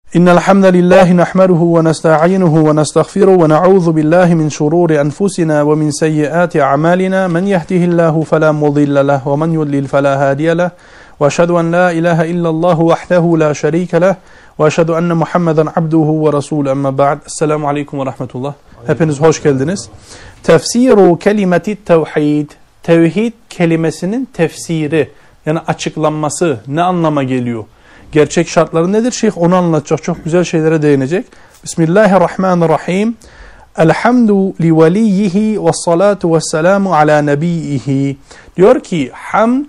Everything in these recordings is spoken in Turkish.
إن الحمد لله نحمده ونستعينه ونستغفره ونعوذ بالله من شرور أنفسنا ومن سيئات أعمالنا من يهده الله فلا مضل له ومن يضلل فلا هادي له وأشهد أن لا إله إلا الله وحده لا شريك له وأشهد أن محمدا عبده ورسوله أما بعد السلام عليكم ورحمة الله. Hepiniz hoş geldiniz. Tefsiru kelimeti tevhid. Tevhid kelimesinin tefsiri, yani açıklanması ne anlama geliyor? Gerçek şartları nedir? Şeyh onu anlatacak. Çok güzel şeylere değinecek. Bismillahirrahmanirrahim. Elhamdu li veliyyihi ve salatu ve selamu ala nebiyyihi. Diyor ki hamd,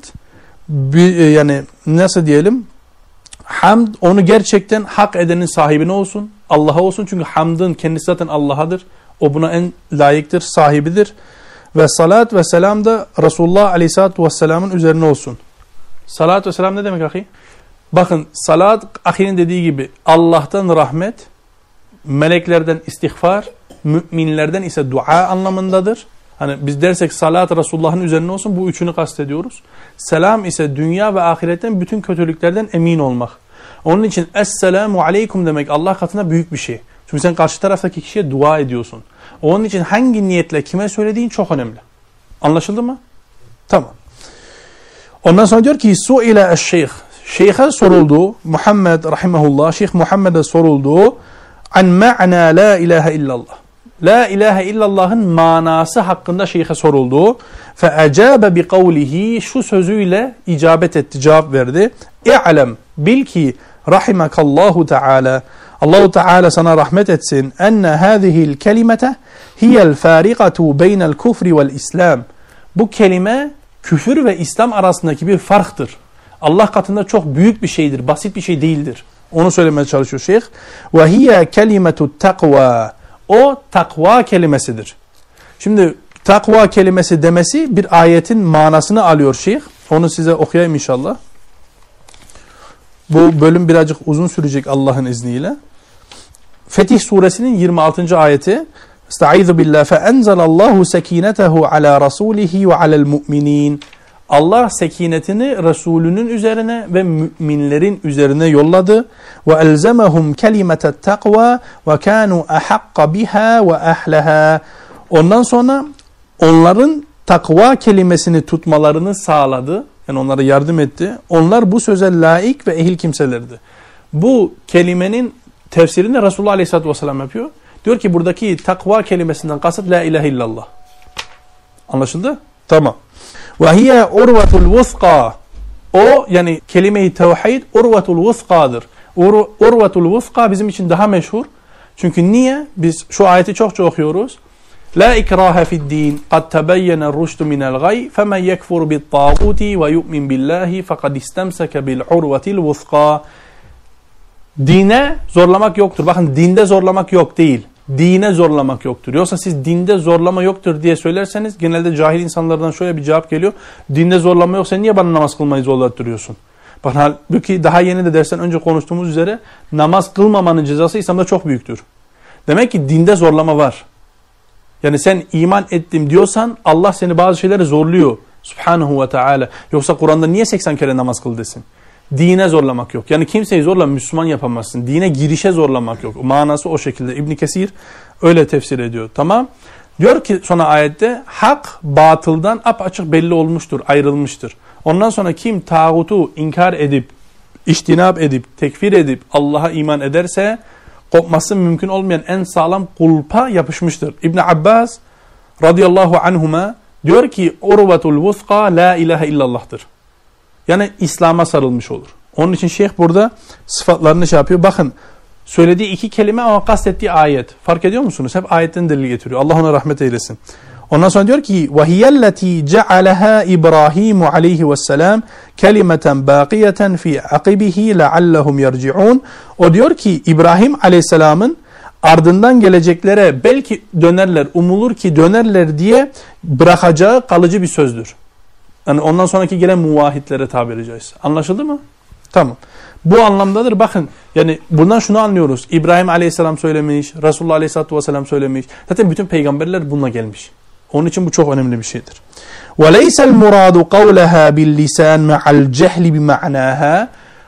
yani nasıl diyelim? Hamd onu gerçekten hak edenin sahibine olsun. Allah'a olsun. Çünkü hamdın kendisi zaten Allah'adır. O buna en layıktır, sahibidir. Ve salat ve selam da Resulullah Aleyhisselatü Vesselam'ın üzerine olsun. Salat ve selam ne demek ahi? Bakın salat ahinin dediği gibi Allah'tan rahmet, meleklerden istiğfar, müminlerden ise dua anlamındadır. Hani biz dersek salat Resulullah'ın üzerine olsun, bu üçünü kastediyoruz. Selam ise dünya ve ahiretten bütün kötülüklerden emin olmak. Onun için Esselamu Aleyküm demek Allah katında büyük bir şey. Çünkü sen karşı taraftaki kişiye dua ediyorsun. Onun için hangi niyetle kime söylediğin çok önemli. Anlaşıldı mı? Tamam. Ondan sonra diyor ki su'ile eşşeyh. Şeyh'e soruldu, Muhammed rahimahullah, Şeyh Muhammed'e soruldu an ma'na la ilahe illallah. La ilahe illallah'ın manası hakkında şeyh'e soruldu. Fe acabe bi kavlihi, şu sözüyle icabet etti, cevap verdi. İ'lem, bil ki rahimakallahu teala, Allahu Teala sana rahmet etsin, enne hâzihil kelimete hiyel fâriqatu beynel kufri vel islam. Bu kelime küfür ve İslam arasındaki bir farktır. Allah katında çok büyük bir şeydir, basit bir şey değildir. Onu söylemeye çalışıyor şeyh. Ve hiye kelimetu takva. O takva kelimesidir. Şimdi takva kelimesi demesi bir ayetin manasını alıyor şeyh. Onu size okuyayım inşallah. Bu bölüm birazcık uzun sürecek Allah'ın izniyle. Fetih suresinin 26. ayeti. Estaizu billah fe enzelallahu sekinetehu ala rasulihi ve alel mu'minin. Allah sekinetini Resulünün üzerine ve müminlerin üzerine yolladı. Ve elzemehum kelimetet takva ve kanu ahakka biha ve ahlaha. Ondan sonra onların takva kelimesini tutmalarını sağladı. Yani onlara yardım etti. Onlar bu söze layık ve ehil kimselerdi. Bu kelimenin tefsirini Resulullah Aleyhisselatü Vesselam yapıyor. Diyor ki buradaki takva kelimesinden kasıt la ilahe illallah. Anlaşıldı? Tamam. وَهِيَ اُرْوَةُ الْوُثْقَى. O yani kelime-i tevhid urvetul vuthqadır. Urvetul vuthqa bizim için daha meşhur. Çünkü niye? Biz şu ayeti çokça okuyoruz. La ikraha fi'd-din qad tebeyyene er-rushdu minel gay femen yekfur bit-tağuti ve yu'min billahi faqad istemseke bil-urvetil vuthqa. Dine zorlamak yoktur. Bakın dinde zorlamak yok değil. Dine zorlamak yoktur. Yoksa siz dinde zorlama yoktur diye söylerseniz genelde cahil insanlardan şöyle bir cevap geliyor. Dinde zorlama yok, sen niye bana namaz kılmayı zorlattırıyorsun? Bakın halbuki daha yeni de dersten önce konuştuğumuz üzere namaz kılmamanın cezası İslam'da çok büyüktür. Demek ki dinde zorlama var. Yani sen iman ettim diyorsan Allah seni bazı şeyleri zorluyor. Subhanahu ve Teala. Yoksa Kur'an'da niye 80 kere namaz kıl desin? Dine zorlamak yok. Yani kimseyi zorla Müslüman yapamazsın. Dine girişe zorlamak yok. Manası o şekilde. İbn Kesir öyle tefsir ediyor. Tamam. Diyor ki sonra ayette hak batıldan apaçık belli olmuştur, ayrılmıştır. Ondan sonra kim tağutu inkar edip, içtinap edip, tekfir edip Allah'a iman ederse kopması mümkün olmayan en sağlam kulpa yapışmıştır. İbn Abbas radıyallahu anhuma diyor ki urvetul vuthqa la ilahe illallah'tır. Yani İslam'a sarılmış olur. Onun için şeyh burada sıfatlarını şey yapıyor. Bakın söylediği iki kelime ama kastettiği ayet. Fark ediyor musunuz? Hep ayetten delil getiriyor. Allah ona rahmet eylesin. Ondan sonra diyor ki وَهِيَ الَّتِي جَعَلَهَا إِبْرَاهِيمُ عَلَيْهِ وَالسَّلَامُ كَلِمَةً بَاقِيَةً فِي عَقِبِهِ لَعَلَّهُمْ يَرْجِعُونَ. O diyor ki İbrahim Aleyhisselam'ın ardından geleceklere belki dönerler, umulur ki dönerler diye bırakacağı kalıcı bir sözdür. Yani ondan sonraki gelen muvahhitlere tabiri caizse. Anlaşıldı mı? Tamam. Bu anlamdadır. Bakın yani bundan şunu anlıyoruz. İbrahim Aleyhisselam söylemiş, Resulullah Aleyhisselatü Vesselam söylemiş. Zaten bütün peygamberler bununla gelmiş. Onun için bu çok önemli bir şeydir. وَلَيْسَ الْمُرَادُ قَوْلَهَا بِاللِّسَانِ مَعَ الْجَهْلِ بِمَعْنَاهَا.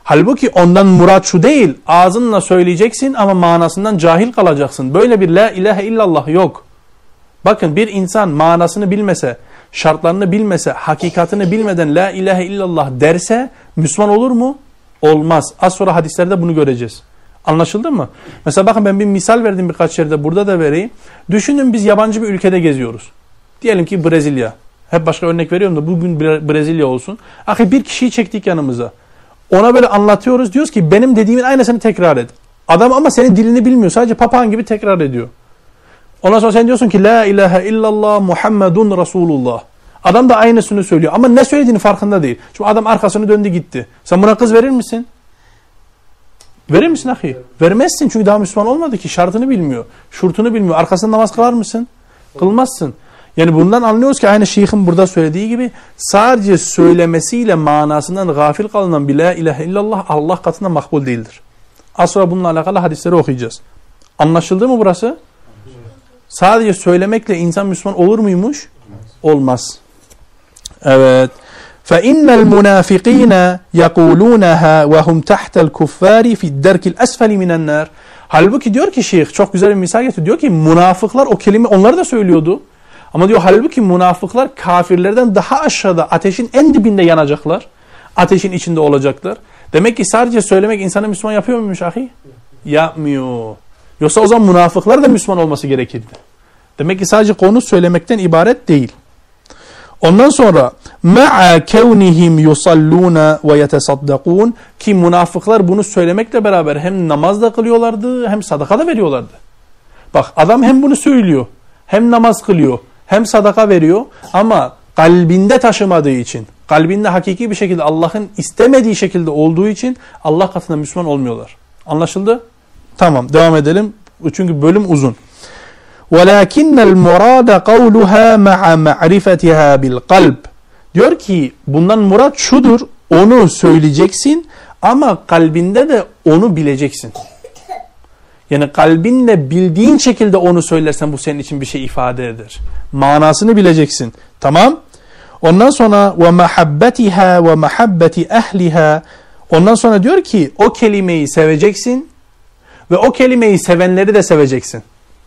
Halbuki ondan murat şu değil. Ağzınla söyleyeceksin ama manasından cahil kalacaksın. Böyle bir la ilahe illallah yok. Bakın bir insan manasını bilmese, şartlarını bilmese, hakikatini bilmeden la ilahe illallah derse Müslüman olur mu? Olmaz. Az sonra hadislerde bunu göreceğiz. Anlaşıldı mı? Mesela bakın ben bir misal verdim birkaç yerde, burada da vereyim. Düşünün biz yabancı bir ülkede geziyoruz. Diyelim ki Brezilya. Hep başka örnek veriyorum da bugün Brezilya olsun. Ahi bir kişiyi çektik yanımıza. Ona böyle anlatıyoruz. Diyoruz ki benim dediğimin aynısını tekrar et. Adam ama senin dilini bilmiyor. Sadece papağan gibi tekrar ediyor. Ondan sonra sen diyorsun ki la ilahe illallah Muhammedun Resulullah. Adam da aynısını söylüyor ama ne söylediğini farkında değil. Çünkü adam arkasını döndü gitti. Sen buna kız verir misin? Verir misin ahi? Vermezsin çünkü daha Müslüman olmadı ki. Şartını bilmiyor. Şurtunu bilmiyor. Arkasında namaz kılar mısın? Kılmazsın. Yani bundan anlıyoruz ki aynı şeyhin burada söylediği gibi sadece söylemesiyle manasından gafil kalınan bir la ilahe illallah Allah katında makbul değildir. Az sonra bununla alakalı hadisleri okuyacağız. Anlaşıldı mı burası? Sadece söylemekle insan Müslüman olur muymuş? Olmaz. Evet. فَاِنَّ الْمُنَافِقِينَ يَقُولُونَهَا وَهُمْ تَحْتَ الْكُفَّارِ فِي الدَّرْكِ الْأَسْفَلِ مِنَ النَّارِ. Halbuki diyor ki şeyh, çok güzel bir misal getiriyor. Diyor ki münafıklar o kelime onları da söylüyordu. Ama diyor halbuki münafıklar kafirlerden daha aşağıda ateşin en dibinde yanacaklar. Ateşin içinde olacaklar. Demek ki sadece söylemek insanı Müslüman yapıyor muymuş ahi? Yapmıyor. Yoksa o zaman münafıklar da Müslüman olması gerekirdi. Demek ki sadece konu söylemekten ibaret değil. Ondan sonra ma'a kevnihim yusalluna ve yetesaddakun ki münafıklar bunu söylemekle beraber hem namaz da kılıyorlardı hem sadaka da veriyorlardı. Bak adam hem bunu söylüyor, hem namaz kılıyor, hem sadaka veriyor ama kalbinde taşımadığı için, kalbinde hakiki bir şekilde Allah'ın istemediği şekilde olduğu için Allah katında Müslüman olmuyorlar. Anlaşıldı? Tamam, devam edelim. Çünkü bölüm uzun. وَلَكِنَّ الْمُرَادَ قَوْلُهَا مَعَ مَعْرِفَتِهَا بِالْقَلْبِ. Diyor ki bundan murat şudur, onu söyleyeceksin ama kalbinde de onu bileceksin. Yani kalbinle bildiğin şekilde onu söylersen bu senin için bir şey ifade eder. Manasını bileceksin. Tamam? Ondan sonra وَمَحَبَّتِهَا وَمَحَبَّةِ اَهْلِهَا. Ondan sonra diyor ki o kelimeyi seveceksin ve o kelimeyi sevenleri de seveceksin.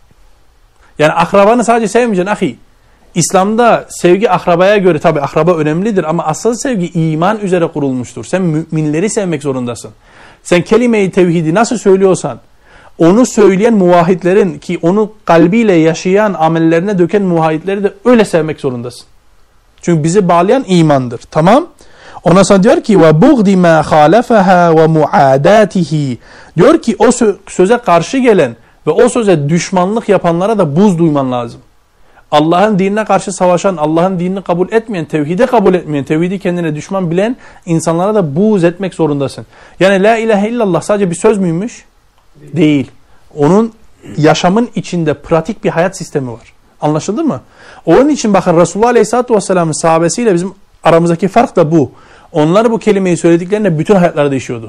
Yani akrabanı sadece sevmeyeceksin ahi. İslam'da sevgi akrabaya göre tabi akraba önemlidir ama asıl sevgi iman üzere kurulmuştur. Sen müminleri sevmek zorundasın. Sen kelime-i tevhidi nasıl söylüyorsan onu söyleyen muvahhidlerin ki onu kalbiyle yaşayan amellerine döken muvahhidleri de öyle sevmek zorundasın. Çünkü bizi bağlayan imandır. Tamam? Ondan sonra diyor ki وَبُغْدِ مَا خَالَفَهَا وَمُعَادَاتِهِ. Diyor ki o söze karşı gelen ve o söze düşmanlık yapanlara da buz duyman lazım. Allah'ın dinine karşı savaşan, Allah'ın dinini kabul etmeyen, tevhidi kabul etmeyen, tevhidi kendine düşman bilen insanlara da buz etmek zorundasın. Yani la ilahe illallah sadece bir söz müymüş? Değil. Onun yaşamın içinde pratik bir hayat sistemi var. Anlaşıldı mı? Onun için bakın Resulullah Aleyhisselatü Vesselam'ın sahabesiyle bizim aramızdaki fark da bu. Onlar bu kelimeyi söylediklerinde bütün hayatları değişiyordu.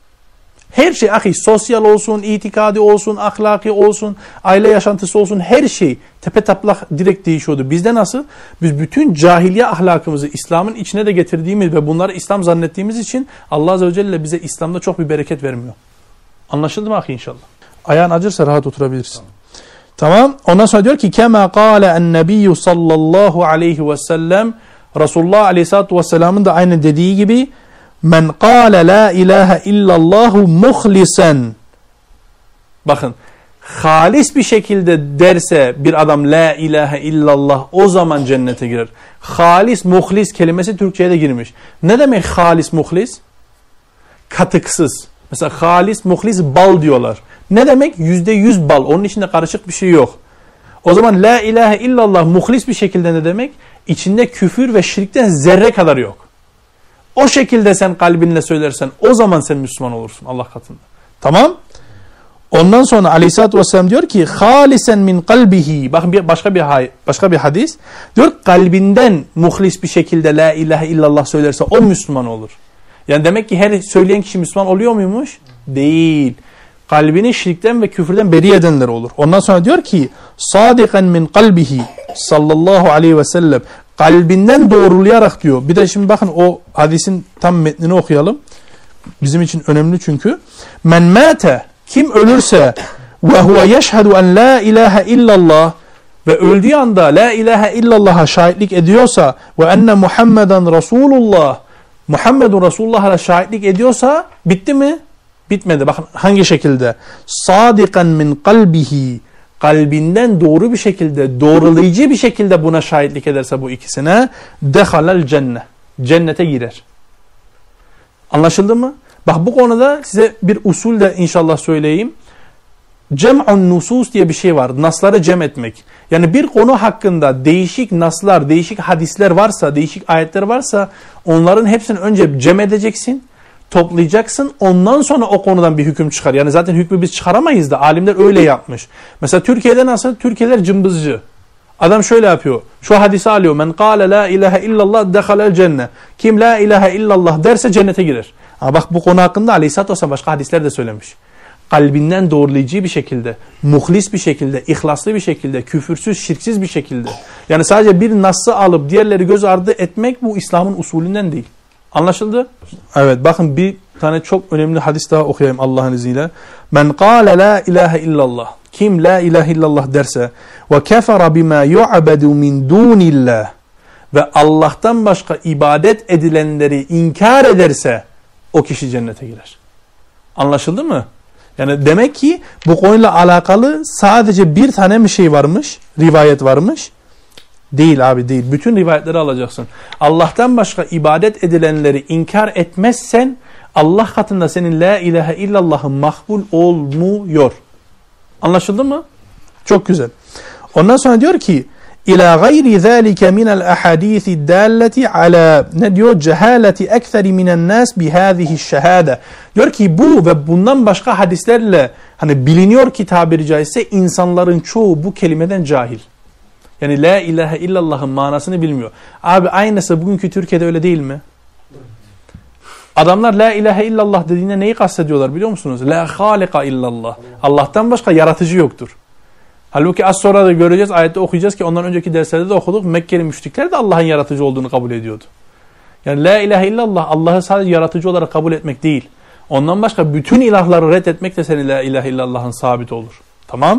Her şey ahi, sosyal olsun, itikadi olsun, ahlaki olsun, aile yaşantısı olsun, her şey tepetaplak direkt değişiyordu. Bizde nasıl? Biz bütün cahiliye ahlakımızı İslam'ın içine de getirdiğimiz ve bunları İslam zannettiğimiz için Allah Azze ve Celle bize İslam'da çok bir bereket vermiyor. Anlaşıldı mı ahi inşallah? Ayağın acırsa rahat oturabilirsin. Tamam. Ondan sonra diyor ki kema kâle en-nebiyyü sallallahu aleyhi ve sellem, Resulullah Aleyhisselatü Vesselam'ın da aynı dediği gibi men kâle la ilahe illallahu muhlisen. Bakın, halis bir şekilde derse bir adam la ilahe illallah o zaman cennete girer. Halis, muhlis kelimesi Türkçe'ye de girmiş. Ne demek halis, muhlis? Katıksız. Mesela halis, muhlis bal diyorlar. Ne demek? %100 bal. Onun içinde karışık bir şey yok. O zaman la ilahe illallah muhlis bir şekilde ne demek? İçinde küfür ve şirkten zerre kadar yok. O şekilde sen kalbinle söylersen o zaman sen Müslüman olursun Allah katında. Tamam? Ondan sonra Aleyhisselatü Vesselam diyor ki halisen min kalbihi. Bakın başka bir hadis. Diyor kalbinden muhlis bir şekilde la ilahe illallah söylerse o Müslüman olur. Yani demek ki her söyleyen kişi Müslüman oluyor muymuş? Değil. Kalbini şirkten ve küfürden beri edenler olur. Ondan sonra diyor ki sadikan min kalbihi sallallahu aleyhi ve sellem, kalbinden doğrulayarak diyor. Bir de şimdi bakın o hadisin tam metnini okuyalım. bizim için önemli çünkü. Men mâte, kim ölürse ve huve yeşhedü en la ilahe illallah, ve öldüğü anda la ilahe illallah'a şahitlik ediyorsa ve enne Muhammeden Resulullah, Muhammedun Resulullah'a şahitlik ediyorsa bitti mi? Bitmedi. Bakın hangi şekilde? Sadikan min kalbihi, kalbinden doğru bir şekilde, doğrulayıcı bir şekilde buna şahitlik ederse bu ikisine, dehalel cennet, cennete girer. Anlaşıldı mı? Bak bu konuda size bir usul de inşallah söyleyeyim. Cem'un nusus diye bir şey var. Nasları cem etmek. Yani bir konu hakkında değişik naslar, değişik hadisler varsa, değişik ayetler varsa onların hepsini önce cem edeceksin, toplayacaksın. Ondan sonra o konudan bir hüküm çıkar. Yani zaten hükmü biz çıkaramayız da alimler öyle yapmış. Mesela Türkiye'de nasıl? Türkiye'ler cımbızcı. Adam şöyle yapıyor. Şu hadisi alıyor. Men kâle la ilahe illallah dehalel cennet. Kim la ilahe illallah derse cennete girer. Ama bak bu konu hakkında Aleyhisselatü Vesselam başka hadisler de söylemiş. Kalbinden doğrulayıcı bir şekilde, muhlis bir şekilde, ihlaslı bir şekilde, küfürsüz, şirksiz bir şekilde. Yani sadece bir nas'ı alıp diğerleri göz ardı etmek bu İslam'ın usulünden değil. Anlaşıldı? Evet, bakın bir tane çok önemli hadis daha okuyayım Allah'ın izniyle. Men kâle la ilahe illallah. Kim la ilahe illallah derse ve kefere bima yu'bedu min dunillah, ve Allah'tan başka ibadet edilenleri inkar ederse o kişi cennete girer. Anlaşıldı mı? Yani demek ki bu konuyla alakalı sadece bir tane mi şey varmış? Rivayet varmış? Değil abi, değil. Bütün rivayetleri alacaksın. Allah'tan başka ibadet edilenleri inkar etmezsen Allah katında senin la ilahe illallah'ın makbul olmuyor. Anlaşıldı mı? Çok güzel. Ondan sonra diyor ki İlâ gayri zâlike minel ahadîthi dâlleti alâ, ne diyor? Cehaleti ektheri minen nâs bihâzihi şehâde. Diyor ki bu ve bundan başka hadislerle hani biliniyor ki tabiri caizse insanların çoğu bu kelimeden cahil. Yani la ilahe illallah'ın manasını bilmiyor. Abi aynısı bugünkü Türkiye'de öyle değil mi? Adamlar la ilahe illallah dediğinde neyi kastediyorlar biliyor musunuz? La halika illallah. Allah'tan başka yaratıcı yoktur. Halbuki az sonra da göreceğiz, ayette okuyacağız ki ondan önceki derslerde de okuduk. Mekkeli müşrikler de Allah'ın yaratıcı olduğunu kabul ediyordu. Yani la ilahe illallah Allah'ı sadece yaratıcı olarak kabul etmek değil. Ondan başka bütün ilahları reddetmek de senin la ilahe illallah'ın sabit olur. Tamam?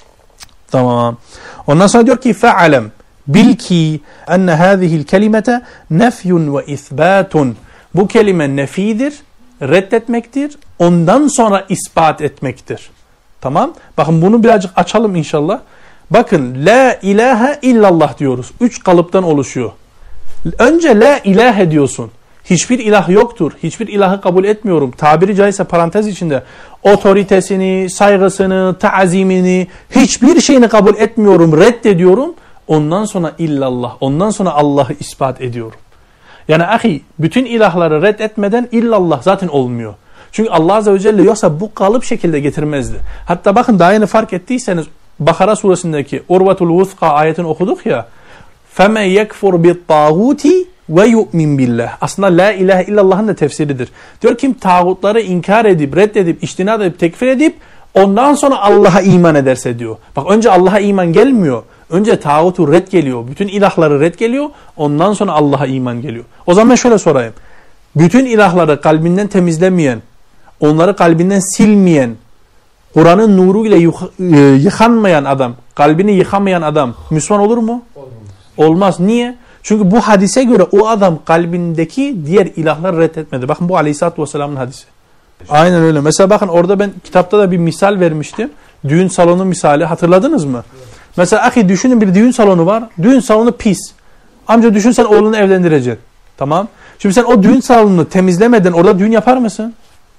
Tamam. Ondan sonra diyor ki fe'alem, bil ki enne hâzihil kelimete nefyun ve isbatun. Bu kelime nefidir, reddetmektir, ondan sonra ispat etmektir. Tamam. Bakın bunu birazcık açalım inşallah. Bakın la ilahe illallah diyoruz. 3 kalıptan oluşuyor. Önce la ilahe diyorsun. Hiçbir ilah yoktur. Hiçbir ilahı kabul etmiyorum. Tabiri caizse parantez içinde otoritesini, saygısını, taazimini, hiçbir şeyini kabul etmiyorum, reddediyorum. Ondan sonra illallah. Ondan sonra Allah'ı ispat ediyorum. Yani ahi bütün ilahları reddetmeden illallah zaten olmuyor. Çünkü Allah Azze ve Celle yoksa bu kalıp şekilde getirmezdi. Hatta bakın daha yeni fark ettiyseniz Bakara suresindeki Urvatul Vuthqa ayetini okuduk ya. فَمَنْ يَكْفُرْ بِالطَّاغُوتِ وَيُؤْمِنْ بِاللّٰهِ. Aslında la ilahe illallah'ın da tefsiridir. Diyor kim tağutları inkar edip, reddedip, içtinat edip, tekfir edip ondan sonra Allah'a iman ederse diyor. Bak önce Allah'a iman gelmiyor. Önce tağutu red geliyor. Bütün ilahları red geliyor. Ondan sonra Allah'a iman geliyor. O zaman şöyle sorayım. Bütün ilahları kalbinden temizlemeyen, onları kalbinden silmeyen, Kur'an'ın nuruyla yıkanmayan adam, kalbini yıkamayan adam Müslüman olur mu? Olmaz. Niye? Çünkü bu hadise göre o adam kalbindeki diğer ilahları reddetmedi. Bakın bu Aleyhisselatü Vesselam'ın hadisi. Aynen öyle. Mesela bakın orada ben kitapta da bir misal vermiştim. Düğün salonu misali. Hatırladınız mı? Mesela ahi düşünün bir düğün salonu var. Düğün salonu pis. Amca düşün sen oğlunu evlendireceksin. Tamam. Şimdi sen o düğün salonunu temizlemeden orada düğün yapar mısın?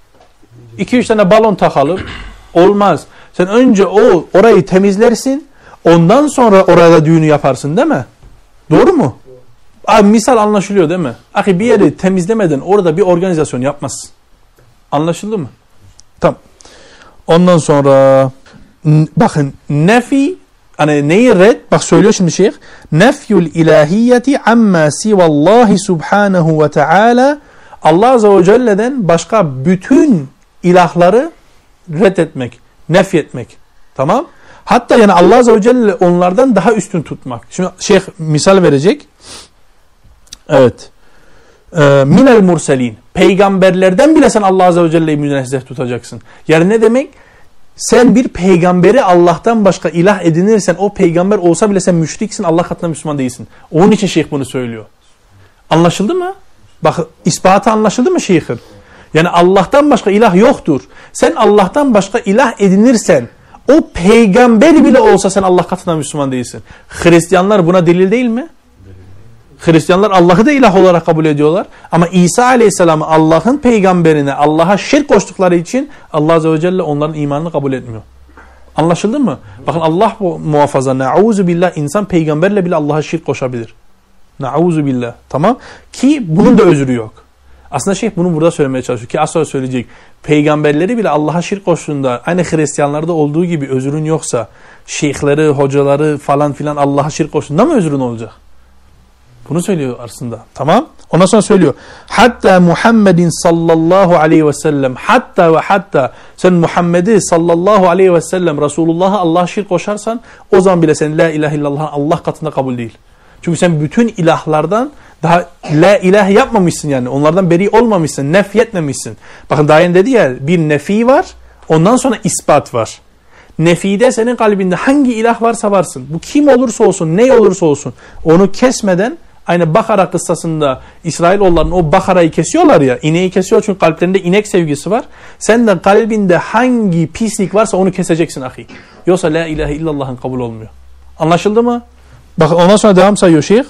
2-3 tane balon takalım. Olmaz. Sen önce orayı temizlersin. Ondan sonra orada düğünü yaparsın değil mi? Doğru mu? Abi misal anlaşılıyor değil mi? Ahi bir yeri temizlemeden orada bir organizasyon yapmazsın. Anlaşıldı mı? Tamam. Ondan sonra bakın nefi hani neyi red? Bak söylüyor şimdi şeyh. Nefyul ilahiyyeti amma sivallahi subhanahu ve teala. Allah Azze ve Celle'den başka bütün ilahları reddetmek, nefyetmek. Tamam? Hatta yani Allah Azze ve Celle onlardan daha üstün tutmak. Şimdi şeyh misal verecek. Evet. minel murselin. Peygamberlerden bile sen Allah Azze ve Celle'yi münezzeh tutacaksın. Yani ne demek? Sen bir peygamberi Allah'tan başka ilah edinirsen o peygamber olsa bile sen müşriksin, Allah katında Müslüman değilsin. Onun için şeyh bunu söylüyor. Anlaşıldı mı? Bak ispatı anlaşıldı mı şeyhin? Yani Allah'tan başka ilah yoktur. Sen Allah'tan başka ilah edinirsen o peygamber bile olsa sen Allah katında Müslüman değilsin. Hristiyanlar buna delil değil mi? Hristiyanlar Allah'ı da ilah olarak kabul ediyorlar. Ama İsa Aleyhisselam'ı Allah'ın peygamberine Allah'a şirk koştukları için Allah Azze ve Celle onların imanını kabul etmiyor. Anlaşıldı mı? Bakın Allah muhafaza. Nauzu billah, insan peygamberle bile Allah'a şirk koşabilir. Nauzu billah. Tamam? Ki bunun da özrü yok. Aslında şeyh bunu burada söylemeye çalışıyor. Ki az sonra söyleyecek. Peygamberleri bile Allah'a şirk koştuğunda aynı Hristiyanlarda olduğu gibi özrün yoksa şeyhleri, hocaları falan filan Allah'a şirk koştuğunda mı özrün olacak? Bunu söylüyor aslında. Tamam? Ondan sonra söylüyor. Hatta Muhammedin sallallahu aleyhi ve sellem, hatta ve hatta sen Muhammed'i sallallahu aleyhi ve sellem Resulullah'a Allah'a şirk koşarsan o zaman bile sen la ilahe illallah Allah katında kabul değil. Çünkü sen bütün ilahlardan daha la ilahe yapmamışsın yani. Onlardan beri olmamışsın, nefyetmemişsin. Bakın daha yeni dedi ya, bir nefi var, ondan sonra ispat var. Nefide senin kalbinde hangi ilah varsa varsın. Bu kim olursa olsun, ne olursa olsun. Onu kesmeden, aynı Bakara kıssasında İsrailoğulların o Bakara'yı kesiyorlar ya, ineği kesiyor çünkü kalplerinde inek sevgisi var. Sen de kalbinde hangi pislik varsa onu keseceksin ahi. Yoksa la ilahe illallah'ın kabul olmuyor. Anlaşıldı mı? Bakın ondan sonra devam sayıyor şeyh.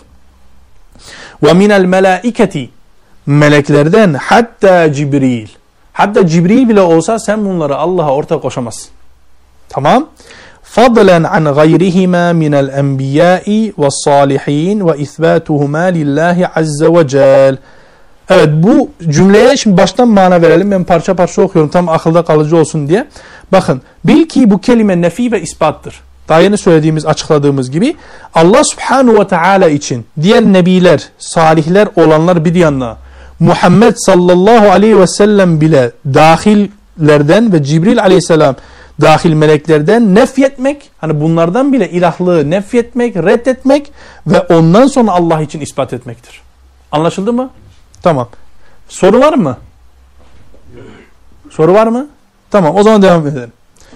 Ve minel melaiketi, meleklerden hatta Cibril. Hatta Cibril bile olsa sen bunları Allah'a ortak koşamazsın. Tamam? Fadlen an gayrihima minel enbiyai ve salihin ve isbatuhuma lillahi azze ve cel. Evet, bu cümleye şimdi baştan mana verelim. Ben parça parça okuyorum tam akılda kalıcı olsun diye. Bakın, bil ki bu kelime nefi ve ispattır. Daha yeni söylediğimiz, açıkladığımız gibi Allah Subhanahu ve Teala için diğer nebiler, salihler olanlar bir yana, Muhammed sallallahu aleyhi ve sellem bile dahillerden ve Cibril aleyhisselam dahil meleklerden nefyetmek, hani bunlardan bile ilahlığı nefyetmek, reddetmek ve ondan sonra Allah için ispat etmektir. Anlaşıldı mı? Tamam. Soru var mı? Soru var mı? Tamam, o zaman devam edelim.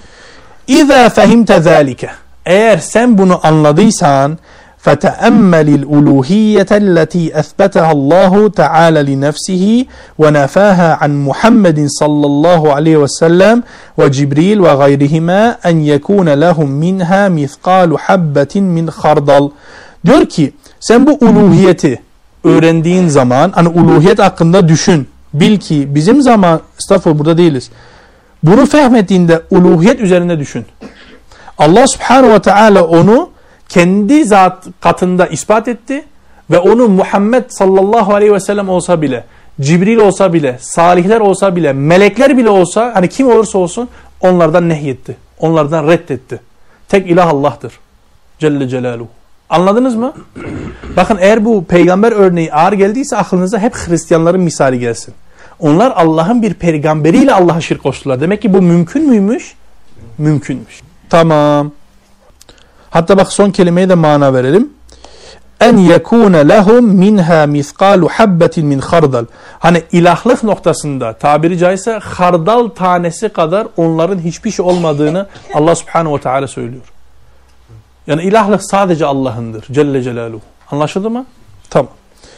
İza fehimte zalike, eğer sen bunu anladıysan فَتَأَمَّلِ الْأُلُوهِيَّةَ الَّتِي أَثْبَتَهَا اللّٰهُ تَعَالَى لِنَفْسِهِ وَنَفَاهَا عَنْ مُحَمَّدٍ صَلَّى اللّٰهُ عَلَيْهِ وَسَلَّمْ وَجِبْرِيلَ وَغَيْرِهِمَا أَنْ يَكُونَ لَهُمْ مِنْهَا مِثْقَالُ حَبَّةٍ مِنْ خَرْدَلٍ. Diyor ki sen bu uluhiyeti öğrendiğin zaman, hani uluhiyet hakkında düşün. Bil ki bizim zaman, estağfurullah burada değiliz. Bunu fehmettiğinde uluhiyet üzerinde düşün. Allah Subhanahu ve Teala onu kendi zat katında ispat etti ve onu Muhammed sallallahu aleyhi ve sellem olsa bile, Cibril olsa bile, salihler olsa bile, melekler bile olsa, hani kim olursa olsun onlardan nehyetti. Onlardan reddetti. Tek ilah Allah'tır. Celle Celaluhu. Anladınız mı? Bakın, eğer bu peygamber örneği ağır geldiyse aklınıza hep Hristiyanların misali gelsin. Onlar Allah'ın bir peygamberiyle Allah'a şirk koştular. Demek ki bu mümkün müymüş? Mümkünmüş. Tamam. Hatta bak son kelimeye de mana verelim. En yekune lehum minha miskalu habbetin min khardal. Hani ilahlık noktasında tabiri caizse hardal tanesi kadar onların hiçbir şey olmadığını Allah Subhanahu ve Teala söylüyor. Yani ilahlık sadece Allah'ındır. Celle Celaluhu. Anlaşıldı mı? Tamam.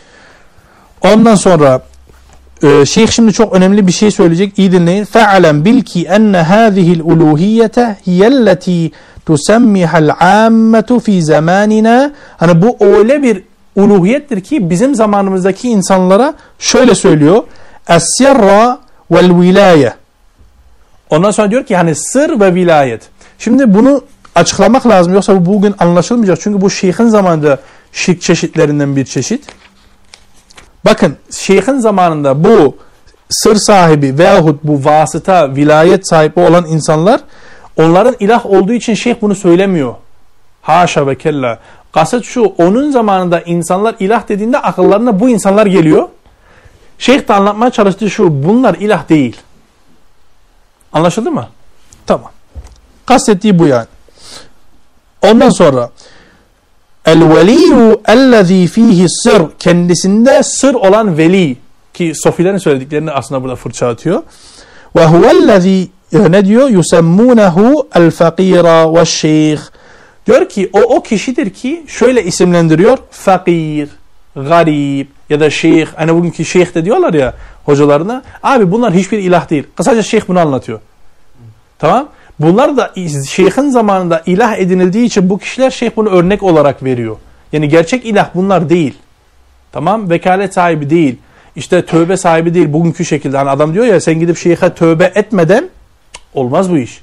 Ondan sonra şeyh şimdi çok önemli bir şey söyleyecek. İyi dinleyin. Fe'alem bil ki enne hâzihil uluhiyete hiyelleti tusemmihal âmmetu fi zamanina. Hani bu öyle bir uluhiyettir ki bizim zamanımızdaki insanlara şöyle söylüyor. Es-sirra vel vilaye. Ondan sonra diyor ki hani sır ve vilayet. Şimdi bunu açıklamak lazım. Yoksa bu bugün anlaşılmayacak. Çünkü bu şeyhin zamanında şirk çeşitlerinden bir çeşit. Bakın, şeyhin zamanında bu sır sahibi veyahut bu vasıta, vilayet sahibi olan insanlar, onların ilah olduğu için şeyh bunu söylemiyor. Haşa ve kella. Kasıt şu, onun zamanında insanlar ilah dediğinde akıllarına bu insanlar geliyor. Şeyh de anlatmaya çalıştığı şu, bunlar ilah değil. Anlaşıldı mı? Tamam. Kastettiği bu yani. Ondan sonra El-veliyyu ellezî fîhi sır. Kendisinde sır olan veli. Ki sofilerin söylediklerini aslında burada fırça atıyor. Ve huvellezî ne diyor? Yusemmûnehu el-fakîra ve'ş-şeyh. Diyor ki o kişidir ki şöyle isimlendiriyor. Fakir, garip ya da şeyh. Hani bugünkü şeyh de diyorlar ya hocalarına. Abi bunlar hiçbir ilah değil. Kısaca şeyh bunu anlatıyor. Tamam. Bunlar da şeyhin zamanında ilah edinildiği için bu kişiler şeyh bunu örnek olarak veriyor. Yani gerçek ilah bunlar değil. Tamam. Vekalet sahibi değil. İşte tövbe sahibi değil. Bugünkü şekilde. Hani adam diyor ya sen gidip şeyhe tövbe etmeden olmaz bu iş.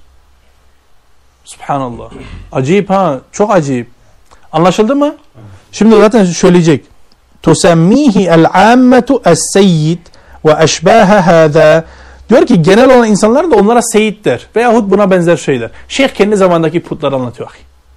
Subhanallah. Acayip ha. Çok acayip. Anlaşıldı mı? Şimdi zaten söyleyecek. Tusemmihi el-ammetu es-seyyid ve eşbâhe hâzâ. Diyor ki genel olan insanlar da onlara seyit der. Veyahut buna benzer şeyler. Şeyh kendi zamandaki putları anlatıyor.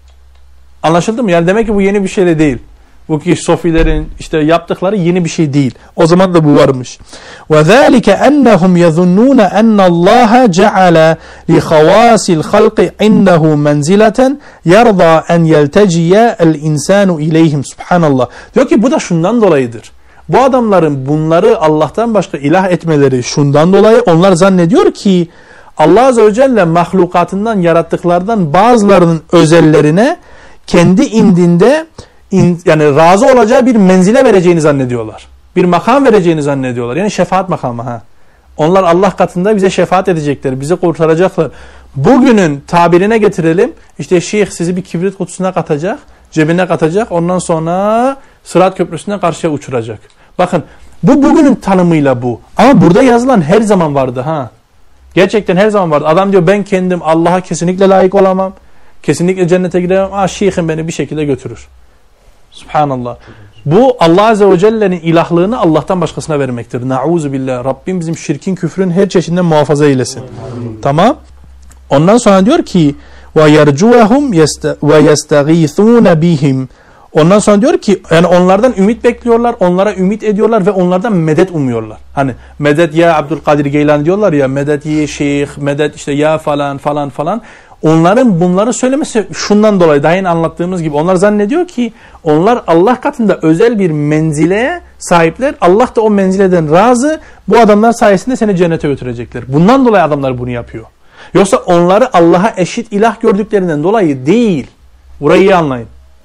Anlaşıldı mı? Yani demek ki bu yeni bir şey de değil. Bu ki sofilerin işte yaptıkları yeni bir şey değil. O zaman da bu varmış. وَذَٰلِكَ أَنَّهُمْ يَظُنُّونَ أَنَّ اللّٰهَ جَعَلَ لِخَوَاسِ الْخَلْقِ عِنْدَهُ مَنْزِلَةً يَرْضَى أَنْ يَلْتَجِيَ الْاِنْسَانُ اِلَيْهِمْ. Subhanallah. Diyor ki bu da şundan dolayıdır. Bu adamların bunları Allah'tan başka ilah etmeleri şundan dolayı onlar zannediyor ki Allah Azze ve Celle mahlukatından yarattıklardan bazılarının özellerine kendi indinde yani razı olacağı bir menzile vereceğini zannediyorlar. Bir makam vereceğini zannediyorlar. Yani şefaat makamı. Ha. Onlar Allah katında bize şefaat edecekler. Bizi kurtaracaklar. Bugünün tabirine getirelim. İşte şeyh sizi bir kibrit kutusuna katacak. Cebine katacak. Ondan sonra Sırat Köprüsü'ne karşıya uçuracak. Bakın bu bugünün tanımıyla bu. Ama burada yazılan her zaman vardı. Ha. Gerçekten her zaman vardı. Adam diyor ben kendim Allah'a kesinlikle layık olamam. Kesinlikle cennete gidemem. Şeyhim beni bir şekilde götürür. Subhanallah. Bu Allah Azze ve Celle'nin ilahlığını Allah'tan başkasına vermektir. Nauzu billah. Rabbim bizim şirkin, küfrün her çeşidinden muhafaza eylesin. Tamam. Ondan sonra diyor ki وَيَرْجُوَهُمْ وَيَسْتَغِيثُونَ بِهِمْ. Ondan sonra diyor ki yani onlardan ümit bekliyorlar, onlara ümit ediyorlar ve onlardan medet umuyorlar. Hani medet ya Abdülkadir Geylani diyorlar ya, medet ya şeyh, medet işte ya falan falan falan. Onların bunları söylemesi şundan dolayı daha yeni anlattığımız gibi onlar zannediyor ki onlar Allah katında özel bir menzileye sahipler. Allah da o menzileden razı. Bu adamlar sayesinde seni cennete götürecekler. Bundan dolayı adamlar bunu yapıyor. Yoksa onları Allah'a eşit ilah gördüklerinden dolayı değil. Burayı iyi anlayın.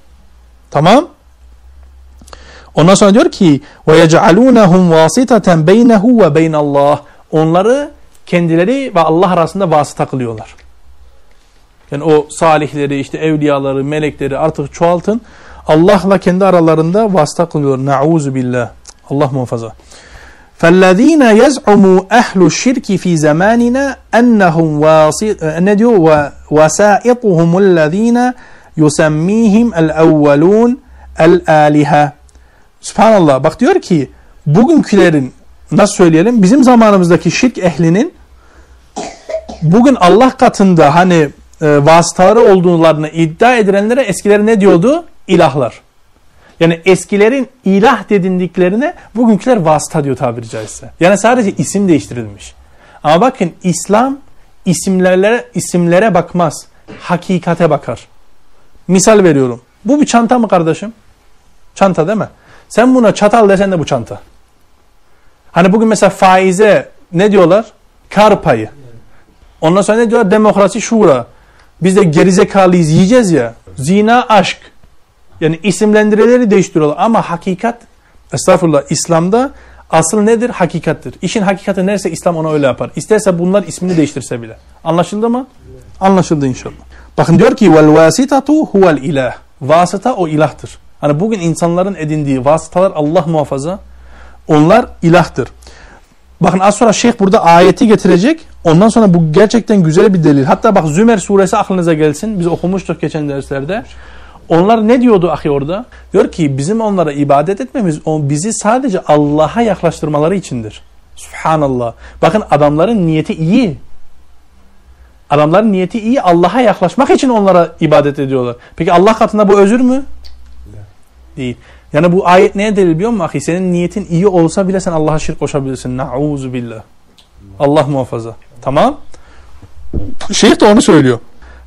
Tamam? Ondan sonra diyor ki وَيَجْعَلُونَهُمْ وَاسِطَةً بَيْنَهُ وَبَيْنَ اللّٰهِ. Onları kendileri ve Allah arasında vasıta kılıyorlar. Yani o salihleri, işte evliyaları, melekleri artık çoğaltın. Allah'la kendi aralarında vasıta kılıyor. Nauzu billah. Allah muhafaza. فَالَّذ۪ينَ يَزْعُمُوا أَهْلُ الشِّرْكِ ف۪ي زَمَانِنَا اَنَّهُمْ وَسَائِطُهُمُ الَّذ۪ينَ يُسَمِّيهِمْ الْاَوَّلُونَ الْآلِهَةِ. Subhanallah. Bak diyor ki bugünkülerin nasıl söyleyelim bizim zamanımızdaki şirk ehlinin bugün Allah katında hani vasıtaları olduğunu iddia edilenlere eskileri ne diyordu? İlahlar. Yani eskilerin ilah dedindiklerine bugünküler vasıta diyor tabiri caizse. Yani sadece isim değiştirilmiş. Ama bakın İslam isimlere bakmaz. Hakikate bakar. Misal veriyorum. Bu bir çanta mı kardeşim? Çanta değil mi? Sen buna çatal desen de bu çanta. Hani bugün mesela faize ne diyorlar? Kar payı. Ondan sonra ne diyorlar? Demokrasi, şura. Biz de gerizekalıyız yiyeceğiz ya. Zina, aşk. Yani isimlendireleri değiştiriyorlar. Ama hakikat, estağfurullah, İslam'da asıl nedir? Hakikattir. İşin hakikati neyse İslam ona öyle yapar. İsterse bunlar ismini değiştirse bile. Anlaşıldı mı? Anlaşıldı inşallah. Bakın diyor ki وَالْوَاسِطَةُ هُوَ الْاِلَٰهِ. Vasıta o ilahtır. Hani bugün insanların edindiği vasıtalar Allah muhafaza onlar ilahtır. Bakın az sonra şeyh burada ayeti getirecek. Ondan sonra bu gerçekten güzel bir delil. Hatta bak Zümer suresi aklınıza gelsin. Biz okumuştuk geçen derslerde. Onlar ne diyordu ahi orada? Diyor ki bizim onlara ibadet etmemiz bizi sadece Allah'a yaklaştırmaları içindir. Subhanallah. Bakın adamların niyeti iyi. Adamların niyeti iyi. Allah'a yaklaşmak için onlara ibadet ediyorlar. Peki Allah katında bu özür mü? Değil. Yani bu ayet neye delil biliyor musun ahi? Senin niyetin iyi olsa bile sen Allah'a şirk koşabilirsin. Nauzu billah. Allah muhafaza. Tamam. Şeyh de onu söylüyor.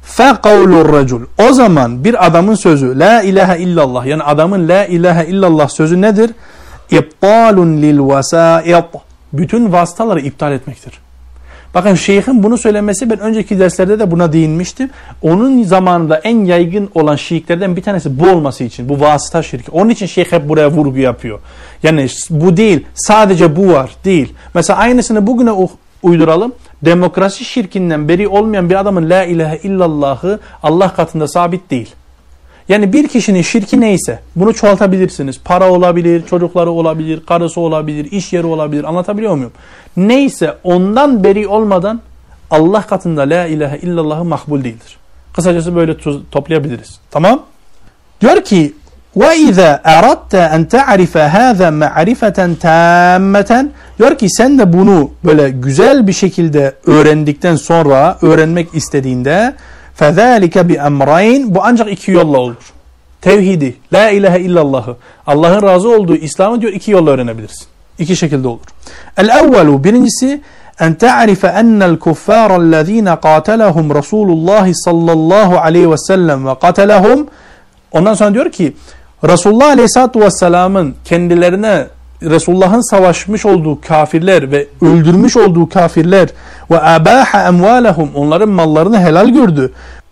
فَقَوْلُ الرَّجُلُ O zaman bir adamın sözü la ilahe illallah, yani adamın la ilahe illallah sözü nedir? اِبْطَالٌ لِلْوَسَائِطِ Bütün vasıtaları iptal etmektir. Bakın şeyhin bunu söylemesi, ben önceki derslerde de buna değinmiştim. Onun zamanında en yaygın olan şirklerden bir tanesi bu olması için. Bu vasıta şirki. Onun için şeyh hep buraya vurgu yapıyor. Yani bu değil, sadece bu var değil. Mesela aynısını bugüne uyduralım. Demokrasi şirkinden beri olmayan bir adamın la ilahe illallahı Allah katında sabit değil. Yani bir kişinin şirki neyse bunu çoğaltabilirsiniz. Para olabilir, çocukları olabilir, karısı olabilir, iş yeri olabilir. Anlatabiliyor muyum? Neyse ondan beri olmadan Allah katında la ilahe illallahı makbul değildir. Kısacası böyle toplayabiliriz. Tamam? Diyor ki وَاِذَا اَرَدْتَ اَنْ تَعْرِفَ هَذَا مَعْرِفَةً تَامَّةً Diyor ki sen de bunu böyle güzel bir şekilde öğrendikten sonra, öğrenmek istediğinde فَذَٰلِكَ بِأَمْرَيْنِ Bu ancak iki yolla olur. Tevhidi, la ilahe illallahı, Allah'ın razı olduğu İslam'ı diyor iki yolla öğrenebilirsin. İki şekilde olur. El-evvelu birincisi en ta'rife ennel kuffarellezine qatalahum Resulullah sallallahu aleyhi ve sellem ve qatalahum Ondan sonra diyor ki Resulullah aleyhissalatu vesselamın kendilerine Resulullah'ın savaşmış olduğu kafirler ve öldürmüş olduğu kafirler ve abaha emvalahum onların mallarını helal gördü.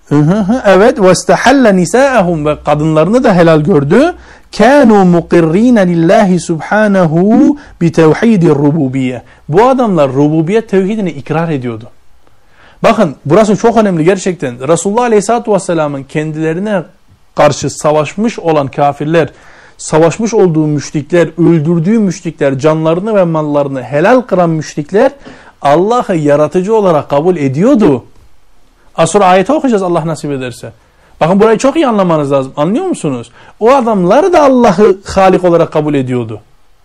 Evet ve istahalla nisaahum ve kadınlarını da helal gördü. Kanu muqirrin lillahi subhanahu bi tevhidir rububiyye. Bu adamlar rububiyet tevhidini ikrar ediyordu. Bakın burası çok önemli gerçekten. Resulullah aleyhissalatu vesselamın kendilerine karşı savaşmış olan kafirler, savaşmış olduğu müşrikler, öldürdüğü müşrikler, canlarını ve mallarını helal kıran müşrikler Allah'ı yaratıcı olarak kabul ediyordu. Az sonra ayeti okuyacağız Allah nasip ederse. Bakın burayı çok iyi anlamanız lazım. Anlıyor musunuz? O adamlar da Allah'ı Halik olarak kabul ediyordu.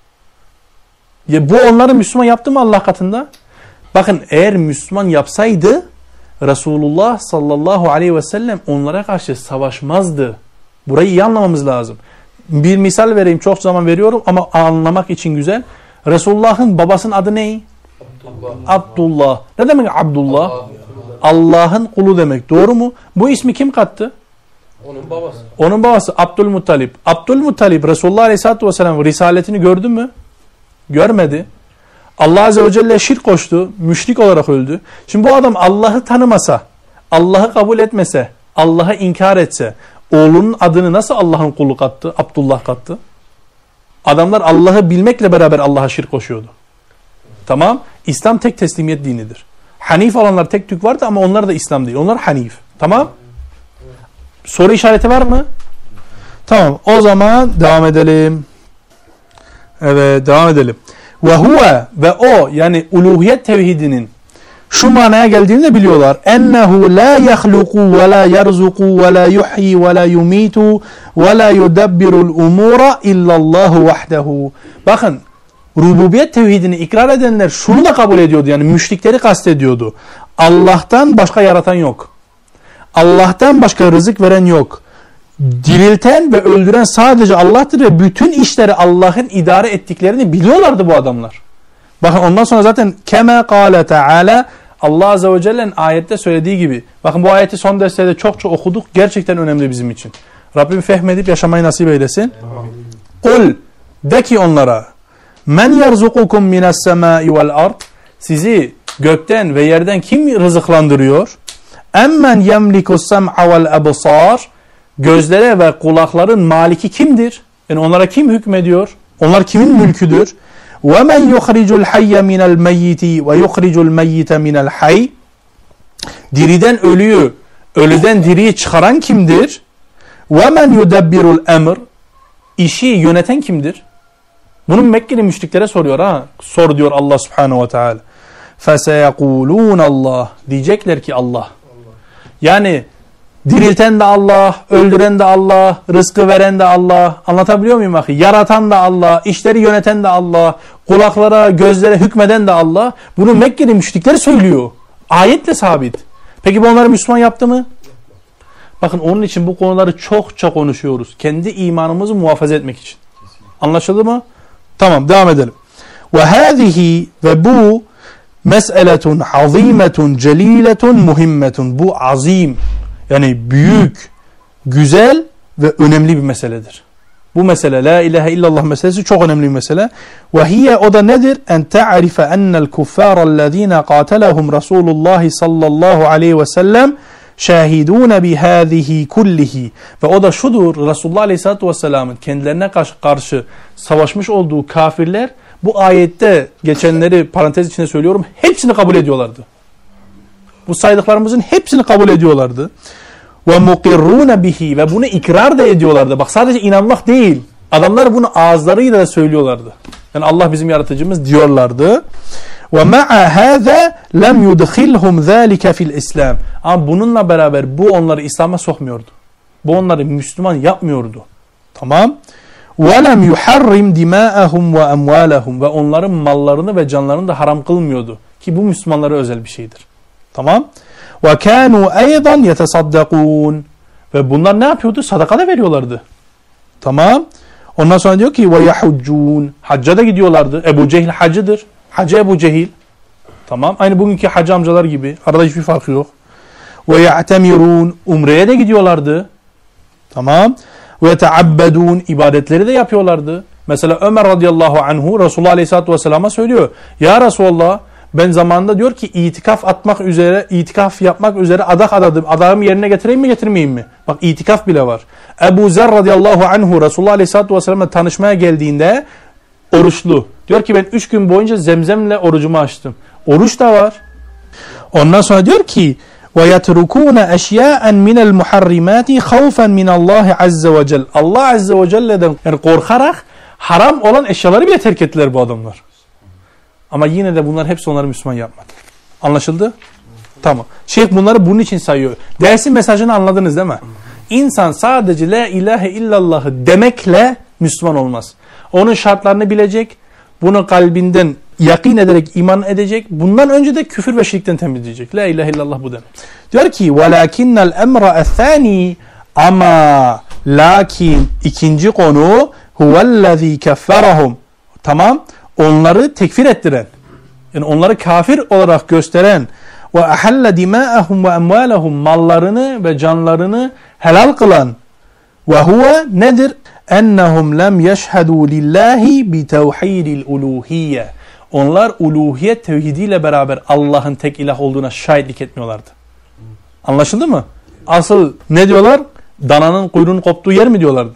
Ya bu onları Müslüman yaptı mı Allah katında? Bakın eğer Müslüman yapsaydı Resulullah sallallahu aleyhi ve sellem onlara karşı savaşmazdı. Burayı iyi anlamamız lazım. Bir misal vereyim, çok zaman veriyorum ama anlamak için güzel. Resulullah'ın babasının adı ne? Abdullah. Ne demek Abdullah? Allah'ın kulu demek. Doğru mu? Bu ismi kim kattı? Onun babası. Onun babası Abdülmuttalib. Abdülmuttalib Resulullah aleyhissalatu vesselam risaletini gördü mü? Görmedi. Allah azze ve celle şirk koştu. Müşrik olarak öldü. Şimdi bu adam Allah'ı tanımasa, Allah'ı kabul etmese, Allah'ı inkar etse, oğlunun adını nasıl Allah'ın kulu kattı? Abdullah kattı. Adamlar Allah'ı bilmekle beraber Allah'a şirk koşuyordu. Tamam. İslam tek teslimiyet dinidir. Hanif olanlar tek tük vardı ama onlar da İslam değil. Onlar Hanif. Tamam. Soru işareti var mı? Tamam. O zaman devam edelim. Evet, devam edelim. Ve huve ve o yani uluhiyet tevhidinin şu manaya geldiğini de biliyorlar. Ennehu la yahluku ve la yerzuku ve la yuhyi ve la yumitu ve la yudabbirul umura illallahu vahdehu. Bakın rububiyet tevhidini ikrar edenler şunu da kabul ediyordu. Yani müşrikleri kastediyordu. Allah'tan başka yaratan yok. Allah'tan başka rızık veren yok. Dirilten ve öldüren sadece Allah'tır ve bütün işleri Allah'ın idare ettiklerini biliyorlardı bu adamlar. Bakın ondan sonra zaten kema kâle teâlâ Allah azze ve celle'nin ayette söylediği gibi. Bakın bu ayeti son derslerde çok okuduk. Gerçekten önemli bizim için. Rabbim fehmedip yaşamayı nasip eylesin. Kul de ki onlara men yerzukukum minas semâi vel ard sizi gökten ve yerden kim rızıklandırıyor? Emmen yemlikus sem'a vel absar gözlere ve kulakların maliki kimdir? Yani onlara kim hükmediyor? Onlar kimin mülküdür? وَمَنْ يُخْرِجُ الْحَيَّ مِنَ الْمَيِّتِ وَيُخْرِجُ الْمَيِّتَ مِنَ الْحَيِّ Diriden ölüyü, ölüden diriyi çıkaran kimdir? وَمَنْ يُدَبِّرُ الْأَمْرِ İşi yöneten kimdir? Bunu Mekkeli müşriklere soruyor ha. Sor diyor Allah Subhanahu ve Teala. فَسَيَقُولُونَ Allah diyecekler ki Allah. Yani dirilten de Allah, öldüren de Allah, rızkı veren de Allah. Anlatabiliyor muyum ahi? Yaratan da Allah, işleri yöneten de Allah, kulaklara, gözlere hükmeden de Allah. Bunu Mekkeli müşrikler söylüyor. Ayetle sabit. Peki bu onları Müslüman yaptı mı? Bakın onun için bu konuları çokça konuşuyoruz. Kendi imanımızı muhafaza etmek için. Anlaşıldı mı? Tamam, devam edelim. وَهَذِهِ ve bu mes'eletun azimetun celiletun muhimmetun. Bu azim. Yani büyük, güzel ve önemli bir meseledir. Bu mesele, la ilahe illallah meselesi çok önemli bir mesele. Ve hiye, o da nedir? En ta'rife ennel kuffârellezîne qâtelehum Resulullah sallallahu aleyhi ve sellem şahidûne bihâzihi kullihi. Ve o da şudur, Resulullah aleyhissalatu vesselamın kendilerine karşı savaşmış olduğu kafirler, bu ayette geçenleri parantez içinde söylüyorum, hepsini kabul ediyorlardı. Bu saydıklarımızın hepsini kabul ediyorlardı. Ve mukirrûne bihi, ve bunu ikrar da ediyorlardı. Bak, sadece inanmak değil. Adamlar bunu ağızlarıyla da söylüyorlardı. Yani Allah bizim yaratıcımız diyorlardı. Ve ma'a hâzâ lem yudkhilhum zâlike fil İslam. Ama bununla beraber bu onları İslam'a sokmuyordu. Bu onları Müslüman yapmıyordu. Tamam. Ve lem yuharrim dimâ'ahum ve emvâlahum, ve onların mallarını ve canlarını da haram kılmıyordu. Ki bu Müslümanlara özel bir şeydir. Tamam. Ve kânû eydan yetesaddakûn, ve bunlar ne yapıyordu? Sadaka da veriyorlardı. Tamam. Ondan sonra diyor ki ve yahuccûn, hacca da gidiyorlardı. Ebu Cehil hacıdır. Hacı Ebu Cehil. Tamam. Aynı bugünkü hacı amcalar gibi. Arada hiçbir farkı yok. Ve ya'temirûn, umreye de gidiyorlardı. Tamam. Ve teabbedûn, ibadetleri de yapıyorlardı. Mesela Ömer radıyallahu anhu Resulullah aleyhissalatu vesselam'a söylüyor. Ya Resulallah, ben zamanında diyor ki itikaf yapmak üzere adak adadım. Adağımı yerine getireyim mi getirmeyeyim mi? Bak, itikaf bile var. Ebu Zer radıyallahu anhu Resulullah aleyhissalatu vesselam'la tanışmaya geldiğinde oruçlu. Diyor ki ben 3 gün boyunca zemzemle orucumu açtım. Oruç da var. Ondan sonra diyor ki وَيَتْرُكُونَ اَشْيَاءً مِنَ الْمُحَرِّمَاتِ خَوْفًا مِنَ اللّٰهِ عَزَّ وَجَلَّ. Allah azze ve celle'den yani korkarak haram olan eşyaları bile terk ettiler bu adamlar. Ama yine de bunlar hepsi onları Müslüman yapmadı. Anlaşıldı? Tamam. Şeyh bunları bunun için sayıyor. Dersin mesajını anladınız değil mi? İnsan sadece la ilahe illallahı demekle Müslüman olmaz. Onun şartlarını bilecek, bunu kalbinden yakin ederek iman edecek. Bundan önce de küfür ve şirkten temizleyecek. La ilahe illallah bu demek. Diyor ki وَلَاكِنَّ الْاَمْرَ الثَّانِي, ama lakin ikinci konu huvellezî kefferahum. Tamam. Onları tekfir ettiren, yani onları kafir olarak gösteren ve ahalla dima'ahum ve emvalahum, mallarını ve canlarını helal kılan, ve huve nedir? Ennehum lem yeşhedû lillahi bi tevhidil uluhiyye. Onlar uluhiyet tevhidiyle beraber Allah'ın tek ilah olduğuna şahitlik etmiyorlardı. Anlaşıldı mı? Asıl ne diyorlar? Dananın kuyruğunun koptuğu yer mi diyorlardı?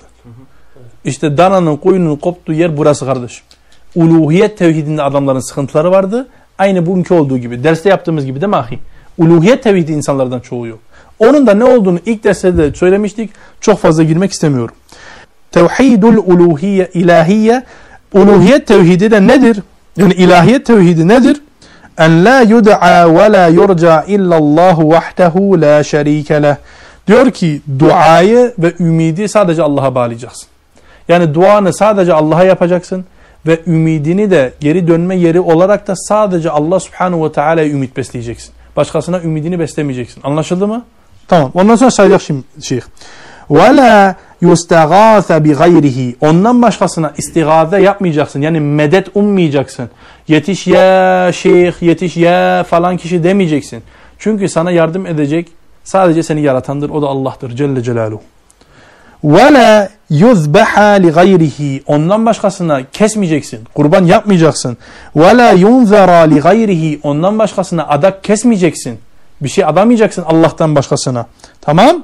İşte dananın kuyruğunun koptuğu yer burası kardeşim. Uluhiyet tevhidinde adamların sıkıntıları vardı. Aynı bugünkü olduğu gibi. Derste yaptığımız gibi değil mi ahi? Uluhiyet tevhidi insanlardan çoğu yok. Onun da ne olduğunu ilk derste de söylemiştik. Çok fazla girmek istemiyorum. Tevhidul uluhiyye, ilahiyye. Uluhiyet tevhidi de nedir? Yani ilahiyet tevhidi nedir? En la yud'a ve la yurca illallahu vahdehu la şerike leh. Diyor ki duayı ve ümidi sadece Allah'a bağlayacaksın. Yani duanı sadece Allah'a yapacaksın. Ve ümidini de geri dönme yeri olarak da sadece Allah subhanahu ve teala'ya ümit besleyeceksin. Başkasına ümidini beslemeyeceksin. Anlaşıldı mı? Tamam. Ondan sonra sayacak şimdi şeyh. وَلَا يُسْتَغَاثَ بِغَيْرِهِ. Ondan başkasına istigâze yapmayacaksın. Yani medet ummayacaksın. Yetiş ya şeyh, yetiş ya falan kişi demeyeceksin. Çünkü sana yardım edecek sadece seni yaratandır. O da Allah'tır Celle Celaluhu. وَلَا يُذْبَحَ لِغَيْرِهِ. Ondan başkasına kesmeyeceksin. Kurban yapmayacaksın. وَلَا يُنْذَرَ لِغَيْرِهِ. Ondan başkasına adak kesmeyeceksin. Bir şey adamayacaksın Allah'tan başkasına. Tamam?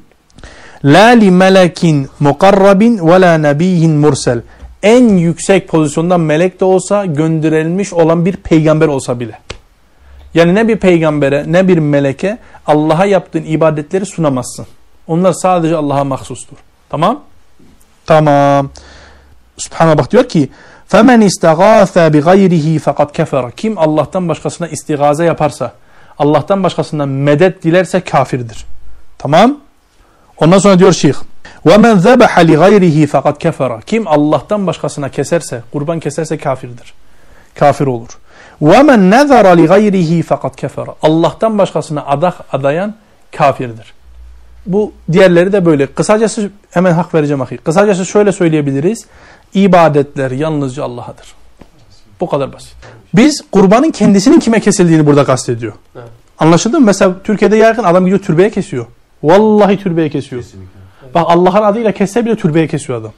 لَا لِمَلَكٍ مُقَرَّبٍ وَلَا نَبِيٍّ mursel. En yüksek pozisyondan melek de olsa, gönderilmiş olan bir peygamber olsa bile. Yani ne bir peygambere ne bir meleke Allah'a yaptığın ibadetleri sunamazsın. Onlar sadece Allah'a mahsustur. Tamam? Tamam. Subhanallah, bak diyor ki فَمَنْ اِسْتَغَاثَ بِغَيْرِهِ فَقَدْ كَفَرَ. Kim Allah'tan başkasına istigaze yaparsa, Allah'tan başkasından medet dilerse kafirdir. Tamam? Ondan sonra diyor şeyh وَمَنْ ذَبَحَ لِغَيْرِهِ فَقَدْ كَفَرَ. Kim Allah'tan başkasına keserse, kurban keserse kafirdir. Kafir olur. وَمَنْ نَذَرَ لِغَيْرِهِ فَقَدْ كَفَرَ. Allah'tan başkasına adak adayan kafirdir. Bu diğerleri de böyle. Kısacası hemen hak vereceğim ahi. Kısacası şöyle söyleyebiliriz. İbadetler yalnızca Allah'adır. Bu kadar basit. Biz kurbanın kendisinin kime kesildiğini burada kastediyor. Evet. Anlaşıldı mı? Mesela Türkiye'de yaygın adam gidiyor türbeye kesiyor. Vallahi türbeye kesiyor. Kesinlikle. Bak Allah'ın adıyla kesse bile türbeye kesiyor adam.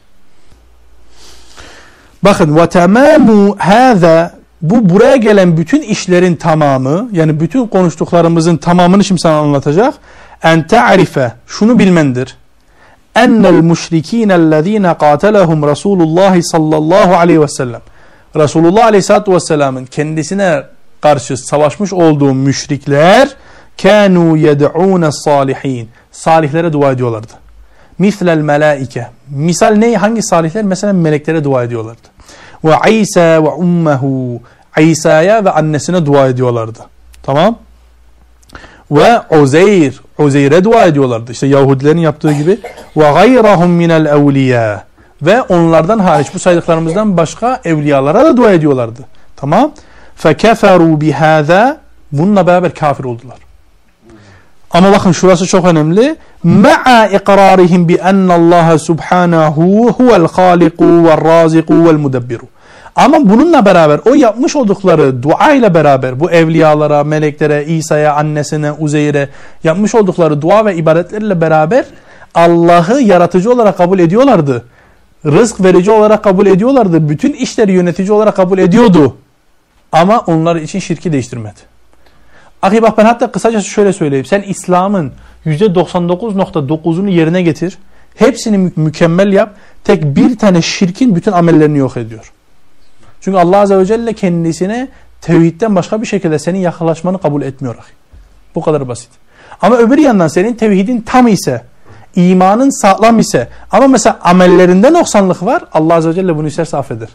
Bakın ve tamamu hâzâ, bu buraya gelen bütün işlerin tamamı, yani bütün konuştuklarımızın tamamını şimdi sana anlatacak. En ta'rife, şunu bilmendir. Ennel müşrikînellezîne qâtelehum Resulullah sallallahu aleyhi ve sellem. Resulullah aleyhissalatu vesselam'ın kendisine karşı savaşmış olduğu müşrikler kânû yed'ûne salihin. Salihlere dua ediyorlardı. Mislel melaike. Misal ne? Hangi salihler? Mesela meleklere dua ediyorlardı. Ve İsa ve ummehu. İsa'ya ve annesine dua ediyorlardı. Tamam? Ve Uzeyr. Uzeyr'e dua ediyorlardı. İşte Yahudilerin yaptığı gibi. Ve gayrahum minel evliya. Ve onlardan hariç, bu saydıklarımızdan başka evliyalara da dua ediyorlardı. Tamam? Fekeferu bihâzâ. Bununla beraber kafir oldular. Ama bakın şurası çok önemli. Ma'a iqrarihim bi ennallaha subhanahu huvel haliku vel raziku vel mudebbiru. Ama bununla beraber, o yapmış oldukları dua ile beraber, bu evliyalara, meleklere, İsa'ya, annesine, Uzeyr'e yapmış oldukları dua ve ibadetlerle beraber Allah'ı yaratıcı olarak kabul ediyorlardı. Rızk verici olarak kabul ediyorlardı. Bütün işleri yönetici olarak kabul ediyordu. Ama onlar için şirki değiştirmedi. Ahi bak, ben hatta kısacası şöyle söyleyeyim. Sen İslam'ın %99.9'unu yerine getir. Hepsini mükemmel yap. Tek bir tane şirkin bütün amellerini yok ediyor. Çünkü Allah Azze ve Celle kendisine tevhidden başka bir şekilde senin yaklaşmanı kabul etmiyor. Bu kadar basit. Ama öbür yandan senin tevhidin tam ise, imanın sağlam ise, ama mesela amellerinde noksanlık var, Allah Azze ve Celle bunu isterse affeder.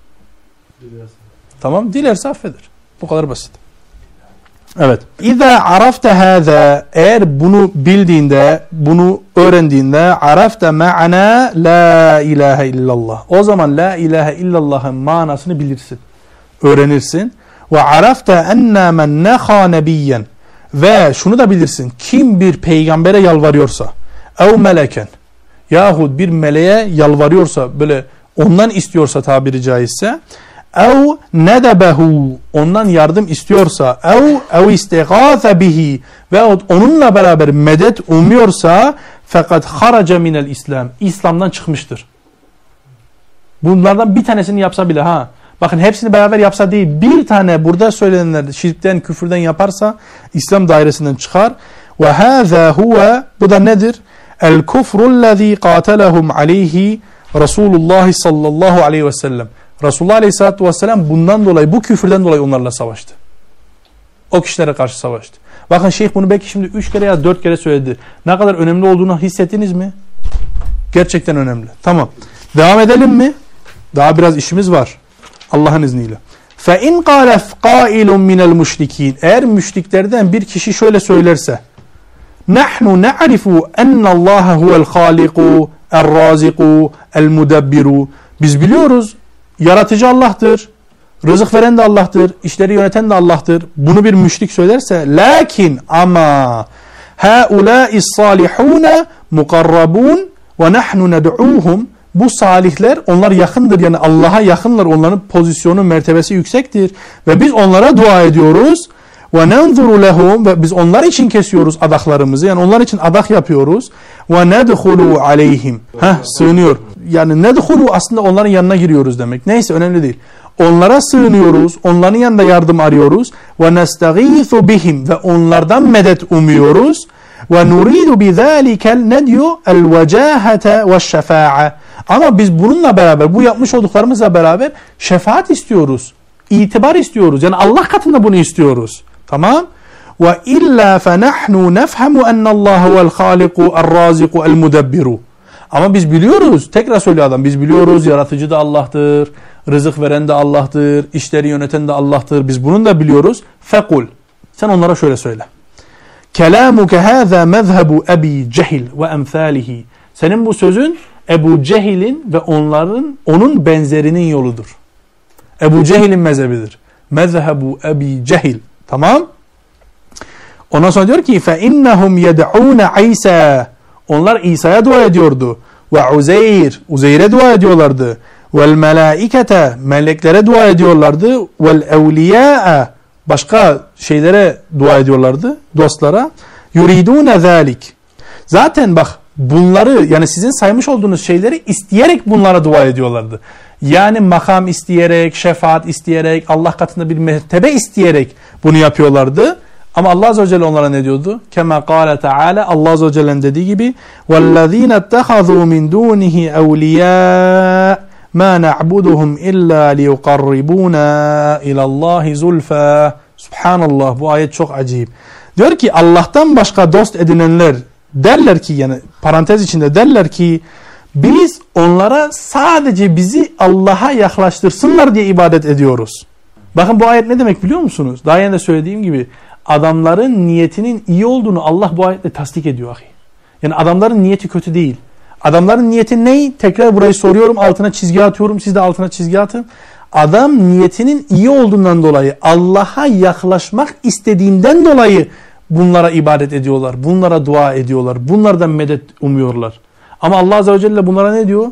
Tamam, dilerse affeder. Bu kadar basit. Evet. İza arafte hâzâ, eğer bunu bildiğinde, bunu öğrendiğinde, arafte ma'ana la ilahe illallah. O zaman la ilahe illallah'ın manasını bilirsin. Öğrenirsin. Ve arafte enne men neha nebiyyen. Ve şunu da bilirsin. Kim bir peygambere yalvarıyorsa, ev meleken, yahut bir meleğe yalvarıyorsa, böyle ondan istiyorsa tabiri caizse, ev nedebehu, ondan yardım istiyorsa, ev istigâfe bihi, ve onunla beraber medet umuyorsa, fakat haraca minel İslam, İslam'dan çıkmıştır. Bunlardan bir tanesini yapsa bile, ha, bakın hepsini beraber yapsa değil, bir tane burada söylenenler şirkten, küfürden yaparsa İslam dairesinden çıkar. Ve hâzâ huve, bu da nedir? El kufrullezî qâtelehum aleyhi Resulullah sallallahu aleyhi ve sellem. Resulullah Aleyhisselatü Vesselam bundan dolayı, bu küfürden dolayı onlarla savaştı. O kişilere karşı savaştı. Bakın şeyh bunu belki şimdi 3 kere ya 4 kere söyledi. Ne kadar önemli olduğunu hissettiniz mi? Gerçekten önemli. Tamam. Devam edelim mi? Daha biraz işimiz var. Allah'ın izniyle. فَاِنْ قَالَ قَائِلٌ مِنَ الْمُشْرِك۪ينَ. Eğer müşriklerden bir kişi şöyle söylerse, نَحْنُ نَعْرِفُ اَنَّ اللّٰهَ هُوَ الْخَالِقُ الرَّازِقُ الْمُدَبِّرُ. Biz biliyoruz, yaratıcı Allah'tır, rızık veren de Allah'tır, işleri yöneten de Allah'tır. Bunu bir müşrik söylerse, lakin ama haulâ'is salihûne mukarrabûn ve nahnu ned'ûhum. Bu salihler, onlar yakındır, yani Allah'a yakınlar, onların pozisyonu, mertebesi yüksektir ve biz onlara dua ediyoruz. Ve nenzuru lehum, ve biz onlar için kesiyoruz adaklarımızı, yani onlar için adak yapıyoruz. Ve nedhulu aleyhim, sığınıyor. Yani nedhulu aslında onların yanına giriyoruz demek. Neyse, önemli değil. Onlara sığınıyoruz, onların yanında yardım arıyoruz. Ve nestagîthu bihim, ve onlardan medet umuyoruz. Ve nuridu bizâlikel, ne diyor? El vecâhete ve şefâ'a. Ama biz bununla beraber, bu yapmış olduklarımızla beraber şefaat istiyoruz. İtibar istiyoruz. Yani Allah katında bunu istiyoruz. Tamam? Ve illa fenahnu nefhemu ennallaha vel haliku er-raziku el-mudebbiru. Ama biz biliyoruz, tekrar söylüyor adam, biz biliyoruz yaratıcı da Allah'tır, rızık veren de Allah'tır, işleri yöneten de Allah'tır. Biz bunun da biliyoruz. Fekul. Sen onlara şöyle söyle. Kelamuke hâzâ mezhebu Ebi Cehil ve emthâlihi. Senin bu sözün Ebu Cehil'in ve onun benzerinin yoludur. Ebu Cehil'in mezhebidir. Mezhebu Ebi Cehil. Tamam. Ondan sonra diyor ki فَاِنَّهُمْ يَدْعُونَ عِيسَى. Onlar İsa'ya dua ediyordu. Ve Uzeyr'e dua ediyorlardı. وَالْمَلَائِكَةَ. Meleklere dua ediyorlardı. وَالْاَوْلِيَاءَ. Başka şeylere dua ediyorlardı. Dostlara. يُرِيدُونَ ذَٰلِكِ. Zaten bak bunları yani sizin saymış olduğunuz şeyleri isteyerek bunlara dua ediyorlardı. Yani makam isteyerek, şefaat isteyerek, Allah katında bir mertebe isteyerek bunu yapıyorlardı. Ama Allah Azze ve Celle onlara ne diyordu? Kema kâle Teala, Allah Azze ve Celle'nin dediği gibi وَالَّذ۪ينَ اتَّخَذُوا مِنْ دُونِهِ اَوْلِيَاءَ مَا نَعْبُدُهُمْ إِلَّا لِيُقَرِّبُونَا إِلَى اللّٰهِ زُلْفَى. Subhanallah, bu ayet çok acayip. Diyor ki Allah'tan başka dost edinenler derler ki, yani parantez içinde derler ki biz onlara sadece bizi Allah'a yaklaştırsınlar diye ibadet ediyoruz. Bakın bu ayet ne demek biliyor musunuz? Daha önce de söylediğim gibi adamların niyetinin iyi olduğunu Allah bu ayetle tasdik ediyor. Yani adamların niyeti kötü değil. Adamların niyeti ne? Tekrar burayı soruyorum, altına çizgi atıyorum, siz de altına çizgi atın. Adam niyetinin iyi olduğundan dolayı, Allah'a yaklaşmak istediğinden dolayı bunlara ibadet ediyorlar, bunlara dua ediyorlar, bunlardan medet umuyorlar. Ama Allah Azze ve Celle bunlara ne diyor?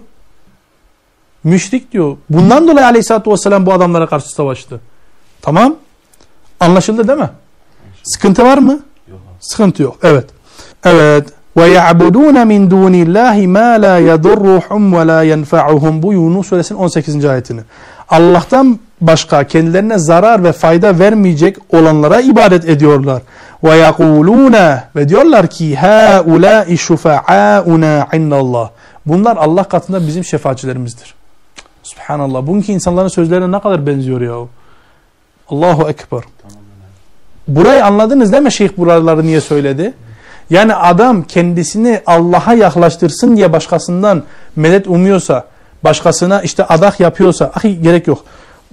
Müşrik diyor. Bundan dolayı Aleyhisselatü Vesselam bu adamlara karşı savaştı. Tamam. Anlaşıldı değil mi? Sıkıntı var mı? Yok. Sıkıntı yok. Evet. Evet. وَيَعْبُدُونَ مِنْ دُونِ اللّٰهِ مَا لَا يَضُرُّهُمْ وَلَا يَنْفَعُهُمْ. Bu Yunus Suresinin 18. ayetini. Allah'tan başka kendilerine zarar ve fayda vermeyecek olanlara ibadet ediyorlar. وَيَقُولُونَ ve diyorlar ki هَاُولَٰئِ شُفَعَاؤُنَا عِنَّ اللّٰهِ. Bunlar Allah katında bizim şefaatçilerimizdir. Subhanallah. Bugünkü insanların sözlerine ne kadar benziyor ya. Allahu Ekber. Burayı anladınız değil mi Şeyh buraları niye söyledi? Yani adam kendisini Allah'a yaklaştırsın diye başkasından medet umuyorsa, başkasına işte adak yapıyorsa, gerek yok.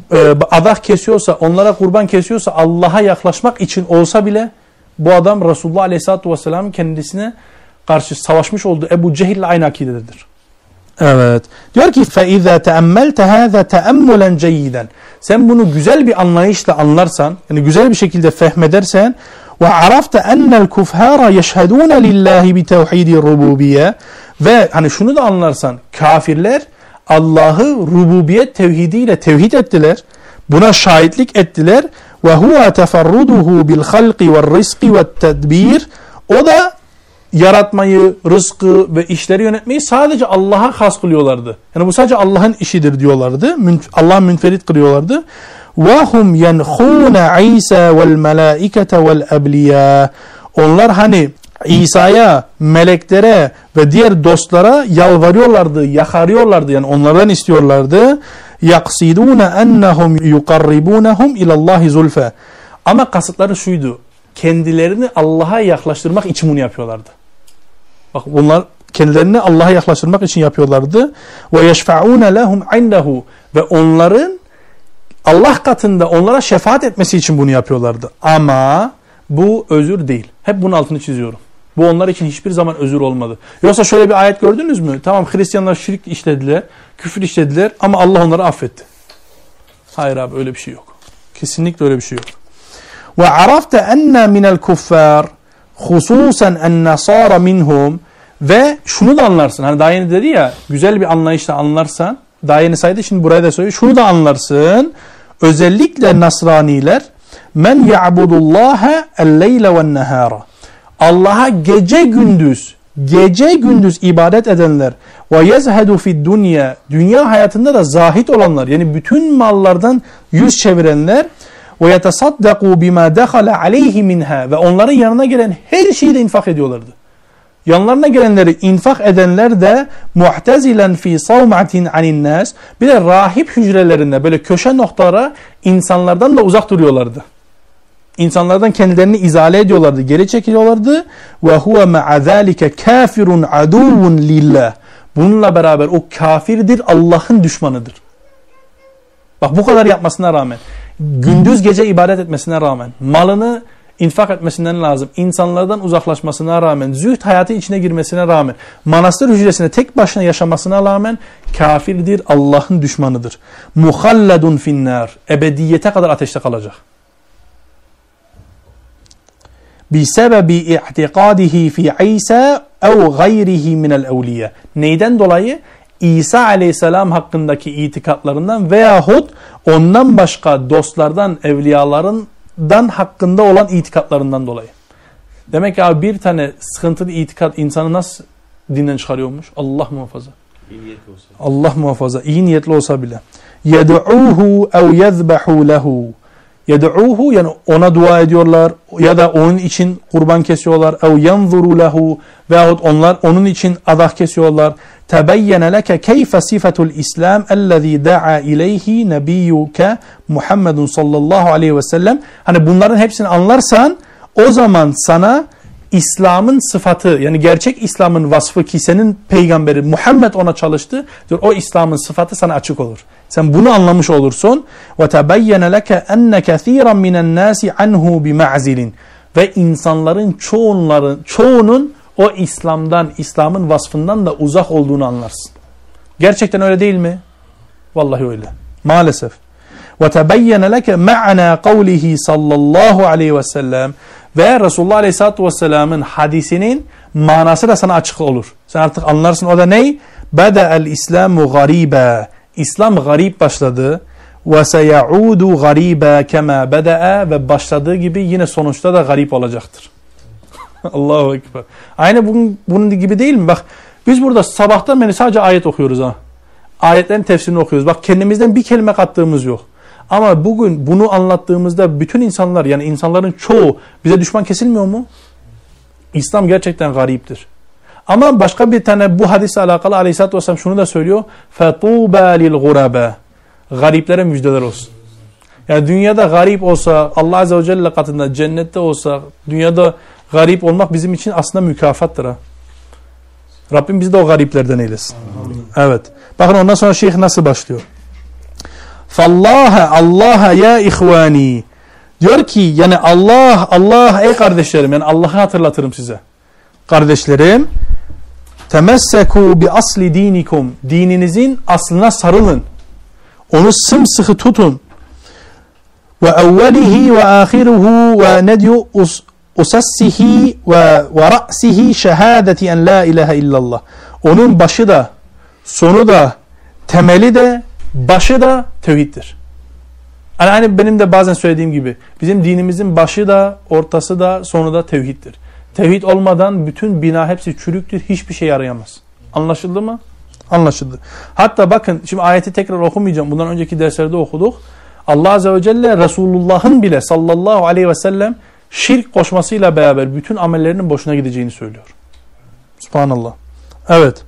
Adak kesiyorsa, onlara kurban kesiyorsa Allah'a yaklaşmak için olsa bile bu adam Resulullah Aleyhisselatü Vesselam'ın kendisine karşı savaşmış olduğu Ebu Cehil'le aynı akidededir. Evet. Diyor ki فَاِذَا تَأَمَّلْتَ هَذَا تَأَمُّلًا جَيِّدًا. Sen bunu güzel bir anlayışla anlarsan, yani güzel bir şekilde fehmedersen وَعَرَفْتَ أَنَّ الْكُفْهَارَ يَشْهَدُونَ لِلّٰهِ بِتَوْحِيدِ الرُّبُوبِيَّةِ. Ve hani şunu da anlarsan, kafirler Allah'ı rububiyet tevhidiyle tevhid ettiler. Buna şahitlik ettiler. وَهُوَ تَفَرُّدُهُ بِالْخَلْقِ وَالرِّزْقِ وَالتَّدْبِيرِ. O da yaratmayı, rızkı ve işleri yönetmeyi sadece Allah'a has kılıyorlardı. Yani bu sadece Allah'ın işidir diyorlardı. Allah'ı münferit kılıyorlardı. وَهُمْ يَنْخُونَ عِيسَى وَالْمَلَائِكَةَ وَالْأَبْلِيَا. Onlar hani İsa'ya, meleklere ve diğer dostlara yalvarıyorlardı, yakarıyorlardı. Yani onlardan istiyorlardı. يَقْصِدُونَ أَنَّهُمْ يُقَرِّبُونَهُمْ اِلَى اللّٰهِ زُلْفَى. Ama kasıtları şuydu. Kendilerini Allah'a yaklaştırmak için bunu yapıyorlardı. Bak bunlar kendilerini Allah'a yaklaştırmak için yapıyorlardı. وَيَشْفَعُونَ لَهُمْ عِنْدَهُ. Ve onların Allah katında onlara şefaat etmesi için bunu yapıyorlardı. Ama bu özür değil. Hep bunun altını çiziyorum. Bu onlar için hiçbir zaman özür olmadı. Yoksa şöyle bir ayet gördünüz mü? Tamam, Hristiyanlar şirk işlediler, küfür işlediler ama Allah onları affetti. Hayır abi, öyle bir şey yok. Kesinlikle öyle bir şey yok. وَعَرَفْتَ أَنَّ مِنَ الْكُفَّارِ خُصُوصًا النَّصَارَ مِنْهُمْ. Ve şunu da anlarsın. Hani daha yeni dedi ya, güzel bir anlayışla anlarsan, daha yeni saydı, şimdi buraya da söylüyor. Şunu da anlarsın. Özellikle Nasraniler men ya'budullaha el-leyle ve'n-nehara. Allah'a gece gündüz ibadet edenler ve yezhedu fi'd-dunya. Dünya hayatında da zahid olanlar, yani bütün mallardan yüz çevirenler ve yetasaddaku bima dakhala alayhi minha. Ve onların yanına gelen her şeyi de infak ediyorlardı. Yanlarına gelenleri infak edenler de mu'tezilen fi savmatin anin nas. Bir de rahip hücrelerinde böyle köşe noktalara insanlardan da uzak duruyorlardı. İnsanlardan kendilerini izale ediyorlardı, geri çekiliyorlardı. Ve huve ma'a zalika kafirun aduvun lillah. Bununla beraber o kafirdir, Allah'ın düşmanıdır. Bak bu kadar yapmasına rağmen, gündüz gece ibadet etmesine rağmen, malını infak etmesinden lazım, insanlardan uzaklaşmasına rağmen, zühd hayatı içine girmesine rağmen, manastır hücresinde tek başına yaşamasına rağmen kafirdir, Allah'ın düşmanıdır. Muhalladun finnar. Ebediyete kadar ateşte kalacak. Bisebebi i'tikadihi fi İsa ev gayrihi minel evliya. Neyden dolayı? İsa aleyhisselam hakkındaki itikatlarından veyahut ondan başka dostlardan, evliyalarından hakkında olan itikatlarından dolayı. Demek ki abi bir tane sıkıntılı itikat insanı nasıl dinden çıkarıyormuş? Allah muhafaza. İyi niyetli olsa. Allah muhafaza. İyi niyetli olsa bile. يَدْعُوهُ اَوْ يَذْبَحُوا لَهُ يَدْعُوهُ yani ona dua ediyorlar ya da onun için kurban kesiyorlar. اَوْ يَنْظُرُوا لَهُ veyahut onlar onun için adak kesiyorlar. تَبَيَّنَ لَكَ كَيْفَ صِفَةُ الْإِسْلَامِ الَّذ۪ي دَعَى اِلَيْهِ نَب۪يُّكَ Muhammedun sallallahu aleyhi ve sellem. Hani bunların hepsini anlarsan o zaman sana İslam'ın sıfatı yani gerçek İslam'ın vasfı ki senin peygamberi Muhammed ona çalıştı. O İslam'ın sıfatı sana açık olur. Sen bunu anlamış olursun. وَتَبَيَّنَ لَكَ أَنَّ كَثِيرًا مِنَ النَّاسِ عَنْهُ بِمَعْزِلٍ ve insanların çoğunun o İslam'ın vasfından da uzak olduğunu anlarsın. Gerçekten öyle değil mi? Vallahi öyle. Maalesef. وَتَبَيَّنَ لَكَ مَعْنَا قَوْلِهِ sallallahu aleyhi ve sellem ve Resulullah Aleyhisselatü Vesselam'ın hadisinin manası da sana açık olur. Sen artık anlarsın o da ne? بَدَأَ الْإِسْلَامُ غَرِيبًا İslam garip başladı. وَسَيَعُودُ غَرِيبًا كَمَا بَدَأَ ve başladığı gibi yine sonuçta da garip olacaktır. Allahu Ekber. Aynı bunun gibi değil mi? Bak biz burada sabahtan beri sadece ayet okuyoruz ha. Ayetlerin tefsirini okuyoruz. Bak kendimizden bir kelime kattığımız yok. Ama bugün bunu anlattığımızda bütün insanlar yani insanların çoğu bize düşman kesilmiyor mu? İslam gerçekten gariptir. Ama başka bir tane bu hadisle alakalı Aleyhisselatü Vesselam şunu da söylüyor. فَطُوبَى لِلْغُرَبَى Gariplere müjdeler olsun. Yani dünyada garip olsa Allah Azze ve Celle katında cennette olsa dünyada garip olmak bizim için aslında mükafattır ha. Rabbim bizi de o gariplerden eylesin. Evet. Bakın ondan sonra şeyh nasıl başlıyor? Allah'a ya ihvani. Diyor ki yani Allah ey kardeşlerim yani Allah'ı hatırlatırım size. Kardeşlerim temesseku bi asli dinikum. Dininizin aslına sarılın. Onu sımsıkı tutun. Ve evvelihi ve ahiruhu ve nedyu usassihi ve ra'sihi şehadeti en la ilahe illallah. Onun başı da sonu da temeli de başı da tevhiddir. Yani benim de bazen söylediğim gibi bizim dinimizin başı da ortası da sonu da tevhiddir. Tevhid olmadan bütün bina hepsi çürüktür. Hiçbir şey yarayamaz. Anlaşıldı mı? Anlaşıldı. Hatta bakın şimdi ayeti tekrar okumayacağım. Bundan önceki derslerde okuduk. Allah Azze ve Celle Resulullah'ın bile sallallahu aleyhi ve sellem şirk koşmasıyla beraber bütün amellerinin boşuna gideceğini söylüyor. Subhanallah. Evet.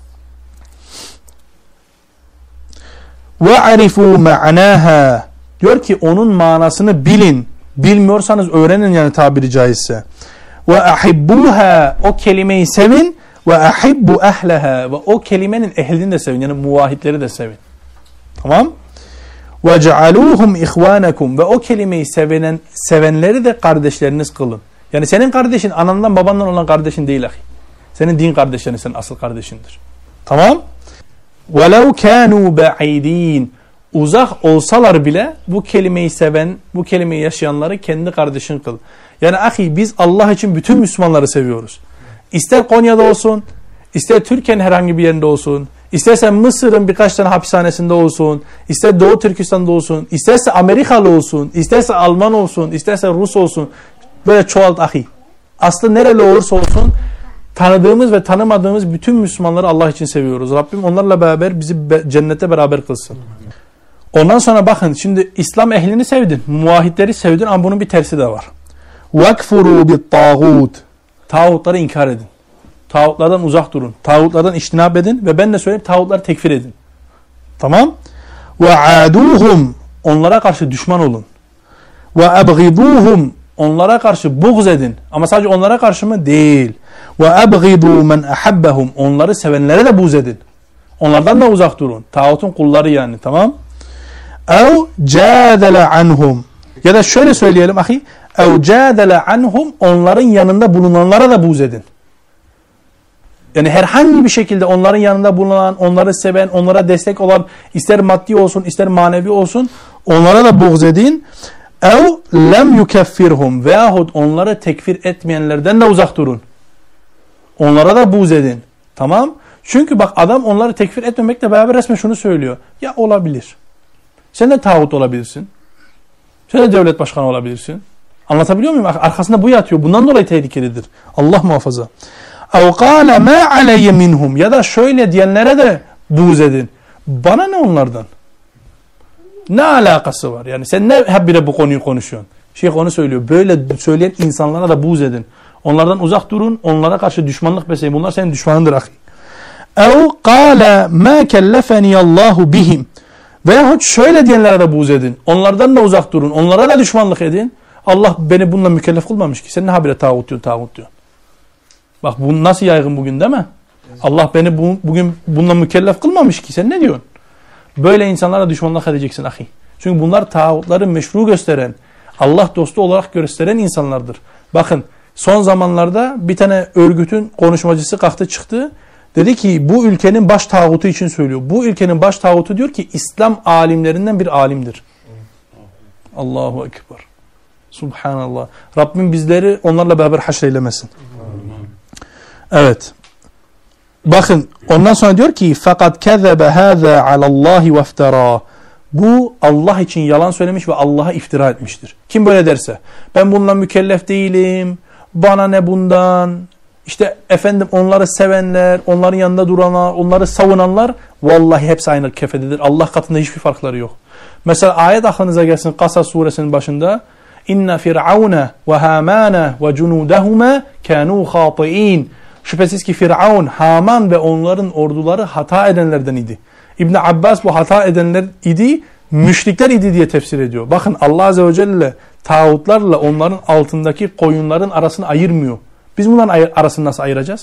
وَعَرِفُوا مَعْنَاهَا diyor ki onun manasını bilin. Bilmiyorsanız öğrenin yani tabiri caizse. وَاَحِبُّوهَا o kelimeyi sevin. وَاَحِبُّ اَهْلَهَا ve o kelimenin ehlini de sevin. Yani muvahhidleri de sevin. Tamam. وَجَعَلُوهُمْ اِخْوَانَكُمْ ve o kelimeyi sevenleri de kardeşleriniz kılın. Yani senin kardeşin anandan babandan olan kardeşin değil ahi. Senin din kardeşlerin senin asıl kardeşindir. Tamam. وَلَوْ كَانُوا بَعِيد۪ينَ uzak olsalar bile bu kelimeyi seven, bu kelimeyi yaşayanları kendi kardeşin kıl. Yani ahi biz Allah için bütün Müslümanları seviyoruz. İster Konya'da olsun, ister Türkiye'nin herhangi bir yerinde olsun, istersen Mısır'ın birkaç tane hapishanesinde olsun, ister Doğu Türkistan'da olsun, isterse Amerikalı olsun, isterse Alman olsun, isterse Rus olsun. Böyle çoğalt ahi. Aslı nereli olursa olsun tanıdığımız ve tanımadığımız bütün Müslümanları Allah için seviyoruz. Rabbim onlarla beraber bizi cennete beraber kılsın. Ondan sonra bakın şimdi İslam ehlini sevdin, muvahhidleri sevdin ama bunun bir tersi de var. وَكْفُرُوا بِالطَّاغُوتِ Tağutları inkar edin. Tağutlardan uzak durun. Tağutlardan iştinab edin ve ben de söyleyeyim tağutları tekfir edin. Tamam? وَعَادُوهُمْ onlara karşı düşman olun. وَأَبْغِضُوهُمْ onlara karşı buğz edin. Ama sadece onlara karşı mı? Değil. وَأَبْغِضُوا مَنْ أَحَبَّهُمْ onları sevenlere de buğz edin. Onlardan da uzak durun. Tağutun kulları yani. Tamam? اَوْ جَادَلَ عَنْهُمْ ya da şöyle söyleyelim ahi. اَوْ جَادَلَ عَنْهُمْ onların yanında bulunanlara da buğz edin. Yani herhangi bir şekilde onların yanında bulunan, onları seven, onlara destek olan ister maddi olsun ister manevi olsun onlara da buğz edin. اَوْ لَمْ يُكَفِّرْهُمْ veyahut onları tekfir etmeyenlerden de uzak durun. Onlara da buğz edin. Tamam? Çünkü bak adam onları tekfir etmemekle beraber resmen şunu söylüyor. Ya olabilir. Sen de tağut olabilirsin. Sen de devlet başkanı olabilirsin. Anlatabiliyor muyum? Arkasında bu yatıyor. Bundan dolayı tehlikelidir. Allah muhafaza. اَوْ قَالَ مَا عَلَيَّ مِنْهُمْ Ya da şöyle diyenlere de buğz edin. Bana ne onlardan? Ne alakası var? Yani sen ne hep bile bu konuyu konuşuyorsun? Şeyh onu söylüyor. Böyle söyleyen insanlara da buğz edin. Onlardan uzak durun. Onlara karşı düşmanlık besleyin. Bunlar senin düşmanındır ahi. اَوْ قَالَ مَا كَلَّفَنِيَ اللّٰهُ بِهِمْ Veyahut şöyle diyenlere de buğz edin. Onlardan da uzak durun. Onlara da düşmanlık edin. Allah beni bununla mükellef kılmamış ki. Sen ne habire tağut diyorsun. Bak bu nasıl yaygın bugün değil mi? Allah beni bugün bununla mükellef kılmamış ki. Sen ne diyorsun? Böyle insanlara düşmanlık edeceksin ahi. Çünkü bunlar tağutları meşru gösteren, Allah dostu olarak gösteren insanlardır. Bakın son zamanlarda bir tane örgütün konuşmacısı kalktı çıktı. Dedi ki bu ülkenin baş tağutu için söylüyor. Bu ülkenin baş tağutu diyor ki İslam alimlerinden bir alimdir. Allahu Ekber. Subhanallah. Rabbim bizleri onlarla beraber haşreylemesin. Evet. Bakın ondan sonra diyor ki fakat kezebe hâzâ alallâhi vefterâ. Bu Allah için yalan söylemiş ve Allah'a iftira etmiştir. Kim böyle derse ben bununla mükellef değilim. Bana ne bundan? İşte efendim onları sevenler, onların yanında duranlar, onları savunanlar vallahi hepsi aynı kefededir. Allah katında hiçbir farkları yok. Mesela ayet aklınıza gelsin Kasas suresinin başında İnne firavune ve hamane ve cunudahuma kanu khati'in. Şüphesiz ki Firavun, Haman ve onların orduları hata edenlerden idi. İbn Abbas bu hata edenler idi, müşrikler idi diye tefsir ediyor. Bakın Allah Azze ve Celle tağutlarla onların altındaki koyunların arasını ayırmıyor. Biz bunların arasını nasıl ayıracağız?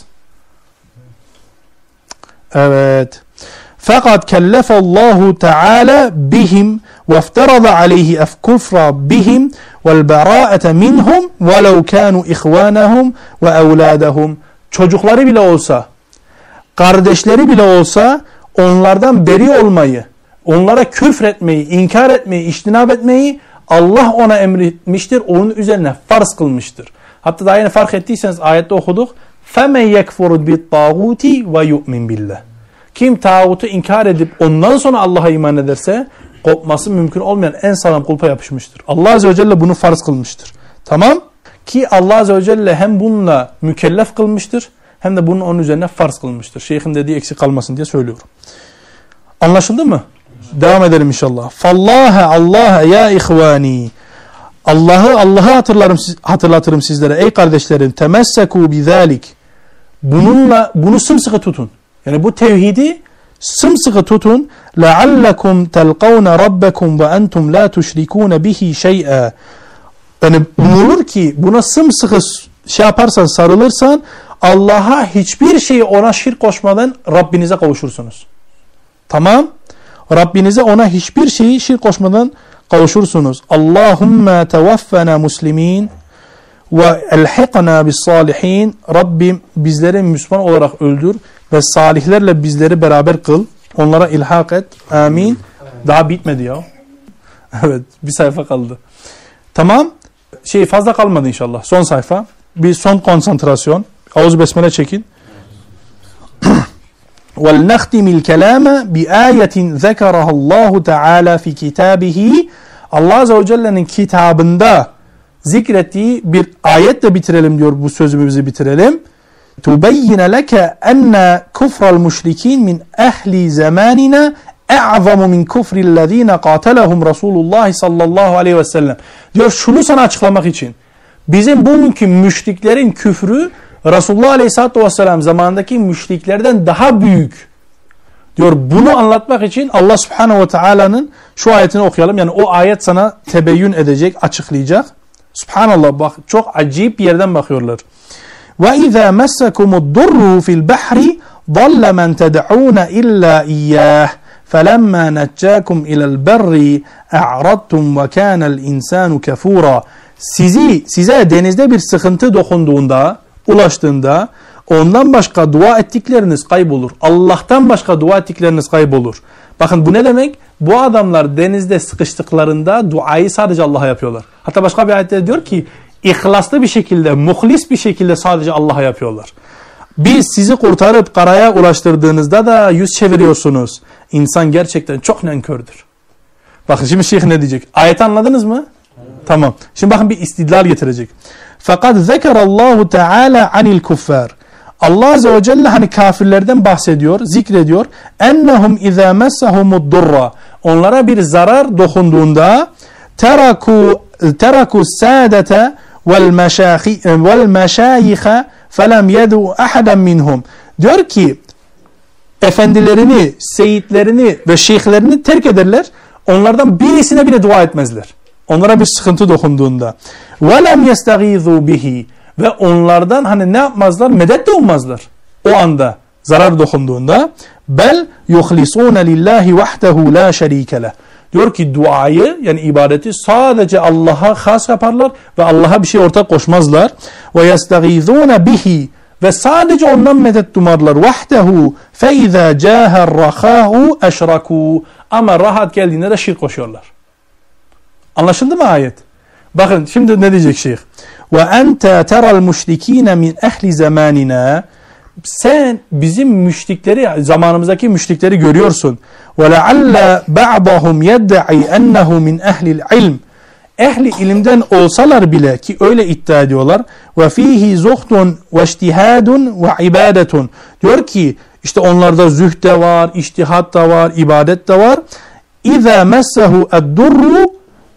Evet. Fakat kellefallahu Teala bihim ve iftarada aleyhi kufra bihim vel bera'ete minhum velev kanu ihvanahum ve evladahum. Çocukları bile olsa, kardeşleri bile olsa onlardan beri olmayı, onlara küfretmeyi, inkar etmeyi, içtinab etmeyi Allah ona emretmiştir, onun üzerine farz kılmıştır. Hatta daha yeni fark ettiyseniz ayette okuduk. فَمَنْ يَكْفُرُ بِالطَّاغُوتِ وَيُؤْمِنْ بِاللّٰهِ Kim tağutu inkar edip ondan sonra Allah'a iman ederse kopması mümkün olmayan en sağlam kulpa yapışmıştır. Allah Azze ve Celle bunu farz kılmıştır. Tamam? Ki Allah Azze ve Celle hem bununla mükellef kılmıştır hem de bunun onun üzerine farz kılmıştır. Şeyhin dediği eksik kalmasın diye söylüyorum. Anlaşıldı mı? Devam edelim inşallah. Allah ya ihvani. Allah'ı hatırlatırım sizlere ey kardeşlerim. Temesseku bizalik. Bunu sımsıkı tutun. Yani bu tevhidi sımsıkı tutun. Leallekum telqavne rabbekum ve entum la tuşrikune bihi şey'a. Yani umulur ki buna sımsıkı yaparsan, sarılırsan Allah'a hiçbir şeyi ona şirk koşmadan Rabbinize kavuşursunuz. Tamam? Rabbinize ona hiçbir şeyi şirk koşmadan kavuşursunuz. Allahümme tevaffena muslimin ve elhiqna bis salihin. Rabbim bizleri Müslüman olarak öldür ve salihlerle bizleri beraber kıl. Onlara ilhak et. Amin. Daha bitmedi ya. Evet, bir sayfa kaldı. Tamam. Fazla kalmadı inşallah. Son sayfa. Bir son konsantrasyon. Ağız besmele çekin. وَلْنَخْتِمِ الْكَلَامَ بِآيَةٍ ذَكَرَهَا اللّٰهُ تَعَالَى فِي كِتَابِهِ Allah Azze ve Celle'nin kitabında zikrettiği bir ayetle bitirelim diyor, bu sözümüzü bitirelim. تُبَيِّنَ لَكَ أَنَّ كُفْرَ الْمُشْرِكِينَ مِنْ أَهْلِ زَمَانِنَا اَعْظَمُ مِنْ كُفْرِ الَّذ۪ينَ قَاتَلَهُمْ رَسُولُ اللّٰهِ sallallahu aleyhi ve sellem. Diyor şunu sana açıklamak için. Bizim bugünkü müşriklerin küfrü Resulullah Aleyhisselatü Vesselam zamanındaki müşriklerden daha büyük. Diyor bunu anlatmak için Allah Subhanahu ve Taala'nın şu ayetini okuyalım. Yani o ayet sana tebeyyün edecek, açıklayacak. Subhanallah bak çok acayip bir yerden bakıyorlar. وَاِذَا مَسَّكُمُ الضُّرُّ فِي الْبَحْرِ ضَلَّ مَنْ تَدْعُونَ إِلَّا إِيَّاهِ فَلَمَّا نَجَّاكُمْ إِلَى الْبَرِّ اَعْرَضْتُمْ وَكَانَ الْاِنْسَانُ كَفُورًا Size denizde bir sıkıntı dokunduğunda, ulaştığında ondan başka dua ettikleriniz kaybolur. Allah'tan başka dua ettikleriniz kaybolur. Bakın bu ne demek? Bu adamlar denizde sıkıştıklarında duayı sadece Allah'a yapıyorlar. Hatta başka bir ayette diyor ki ihlaslı bir şekilde, muhlis bir şekilde sadece Allah'a yapıyorlar. Biz sizi kurtarıp karaya ulaştırdığınızda da yüz çeviriyorsunuz. İnsan gerçekten çok nankördür. Bakın şimdi şeyh ne diyecek? Ayeti anladınız mı? Tamam. Şimdi bakın bir istidlal getirecek. Fakat zekerallahu teala anil kuffar. Allah Azze ve Celle hani kafirlerden bahsediyor, zikrediyor. Ennehum izâ messahumud durra. Onlara bir zarar dokunduğunda teraku sâdete vel meşâyihe felem yedu ahaden minhum. Diyor ki efendilerini, seyitlerini ve şeyhlerini terk ederler. Onlardan birisine bile dua etmezler. Onlara bir sıkıntı dokunduğunda. وَلَمْ يَسْتَغِيذُوا bihi. Ve onlardan hani ne yapmazlar? Medet de ummazlar. O anda zarar dokunduğunda. Bel yuhlisûne lillahi vahdehu la şerîke leh. Diyor ki duayı yani ibadeti sadece Allah'a has yaparlar ve Allah'a bir şey ortak koşmazlar. وَيَسْتَغِيذُونَ bihi. Ve sadece ondan medet umarlar. Vahdehu فَاِذَا جَاهَ الرَّخَاهُ اَشْرَكُوا. Ama rahat geldiğinde de şirk koşuyorlar. Anlaşıldı mı ayet? Bakın şimdi ne diyecek şeyh? وَاَنْتَ تَرَى الْمُشْرِك۪ينَ مِنْ اَهْلِ زَمَانِنَا. Sen bizim müşrikleri, zamanımızdaki müşrikleri görüyorsun. وَلَعَلَّ بَعْضَهُمْ يَدَّعِي اَنَّهُ مِنْ اَهْلِ الْعِلْمِ. Ehli ilimden olsalar bile ki öyle iddia ediyorlar. وَفِيهِ زُخْتٌ وَاجْتِهَادٌ وَعِبَادَةٌ. Diyor ki işte onlarda zühd de var, içtihat da var, ibadet de var. اِذَا مَسَّهُ الدُّرُّ.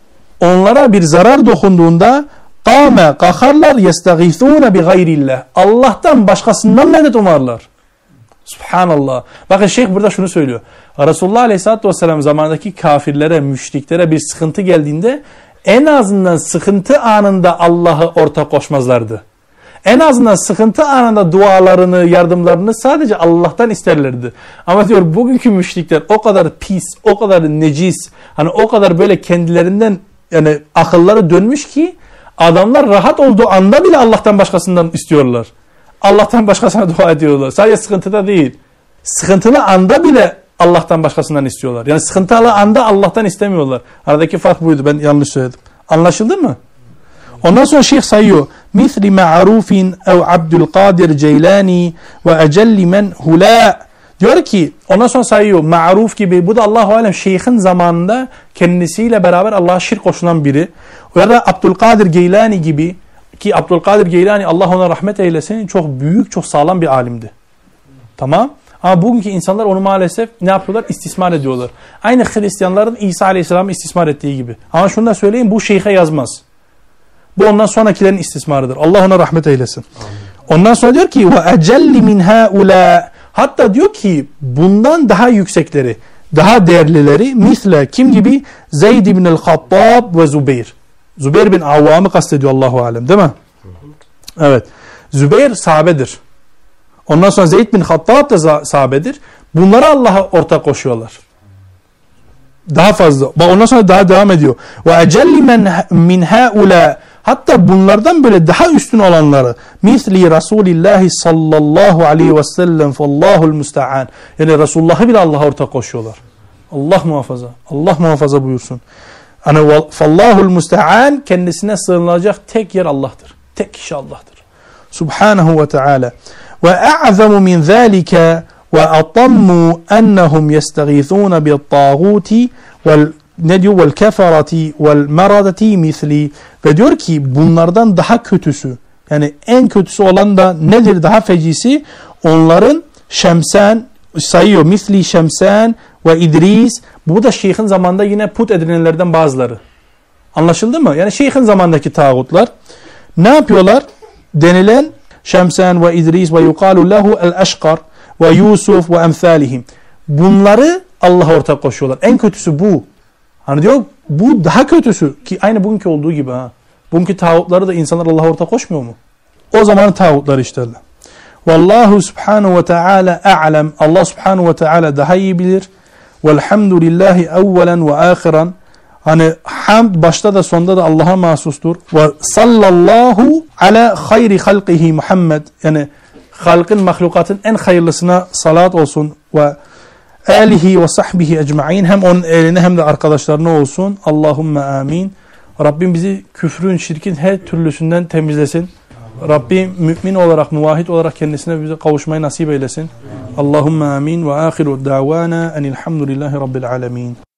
Onlara bir zarar dokunduğunda قَامَ kalkarlar يَسْتَغِيثُونَ بِغَيْرِ اللّٰهِ. Allah'tan başkasından medet umarlar. Subhanallah. Bakın şeyh burada şunu söylüyor. Resulullah Aleyhisselatü Vesselam zamanındaki kafirlere, müşriklere bir sıkıntı geldiğinde en azından sıkıntı anında Allah'ı ortak koşmazlardı. En azından sıkıntı anında dualarını, yardımlarını sadece Allah'tan isterlerdi. Ama diyor bugünkü müşrikler o kadar pis, o kadar necis, hani o kadar böyle kendilerinden yani akılları dönmüş ki adamlar rahat olduğu anda bile Allah'tan başkasından istiyorlar. Allah'tan başkasına dua ediyorlar. Sadece sıkıntıda değil. Sıkıntılı anda bile Allah'tan başkasından istiyorlar. Yani sıkıntılı anda Allah'tan istemiyorlar. Aradaki fark buydu. Ben yanlış söyledim. Anlaşıldı mı? Ondan sonra şeyh sayıyor. Misli ma'rufin ev Abdülkadir Ceylani ve ecelli men hula. Diyor ki ondan sonra sayıyor. Ma'ruf gibi. Bu da Allahu alem şeyhin zamanında kendisiyle beraber Allah'a şirk koşulan biri. Ya da Abdülkadir Geylani gibi. Ki Abdülkadir Geylani Allah ona rahmet eylesin çok büyük, çok sağlam bir alimdi. Tamam. Ama bugünkü insanlar onu maalesef ne yapıyorlar? İstismar ediyorlar. Aynı Hristiyanların İsa Aleyhisselam'ı istismar ettiği gibi. Ama şunu da söyleyeyim, bu şeyhe yazmaz. Bu ondan sonrakilerin istismarıdır. Allah ona rahmet eylesin. Amin. Ondan sonra diyor ki وَاَجَلِّ مِنْ هَاُولَٰ. Hatta diyor ki bundan daha yüksekleri, daha değerlileri misle kim gibi? Zeyd ibn el-Hattab ve Zübeyir. Zübeyir bin Avvam'ı kastediyor Allahu alem, değil mi? Evet. Zübeyir sahabedir. Ondan sonra Zeyd bin Hattab da sahabedir. Bunlara Allah'a ortak koşuyorlar. Daha fazla. Ondan sonra daha devam ediyor. Ve ecelli min haula. Hatta bunlardan böyle daha üstün olanları. Misli Resulillahi sallallahu aleyhi ve sellem fallahul musta'an. Yani Resulullah'ı bile Allah'a ortak koşuyorlar. Allah muhafaza. Allah muhafaza buyursun. Yani fallahul musta'an, kendisine sığınılacak tek yer Allah'tır. Tek kişi Allah'tır. Subhanahu ve Teala. Ve a'zamu min zâlike ve atammu ennehum yesteğîthûne bi't-tâgûti vel keferati vel meradati misli. Ve diyor ki bunlardan daha kötüsü, yani en kötüsü olan da nedir, daha fecisi? Onların Şemsen sayıyor. Misli Şemsen ve İdris. Bu da şeyhin zamanında yine put edinenlerden bazıları. Anlaşıldı mı? Yani şeyhin zamandaki tağutlar ne yapıyorlar? Denilen Şemsen ve İdris ve yukalu lehu el-eşkar ve Yusuf ve emsalihim. Bunları Allah'a ortak koşuyorlar. En kötüsü bu. Hani diyor bu daha kötüsü ki aynı bugünkü olduğu gibi ha. Bugünkü tağutları da insanlar Allah'a ortak koşmuyor mu? O zamanın tağutları işte. Vallahu subhanahu ve teala a'lem. Allah subhanahu ve teala daha iyi bilir. Velhamdülillahi evvelen ve ahiren. Hani hamd başta da sonda da Allah'a mahsustur. Ve sallallahu ala hayri halqihi Muhammed. Yani halkın, mahlukatın en hayırlısına salat olsun ve alihi ve sahbihi ecma'in. Hem onun eline hem de arkadaşlarına olsun. Allahümme amin. Rabbim bizi küfrün, şirkin her türlüsünden temizlesin. Rabbim mümin olarak, muvahhid olarak kendisine bize kavuşmayı nasip eylesin. Allahümme amin ve ahiru davana enilhamdülillahi rabbil alemin.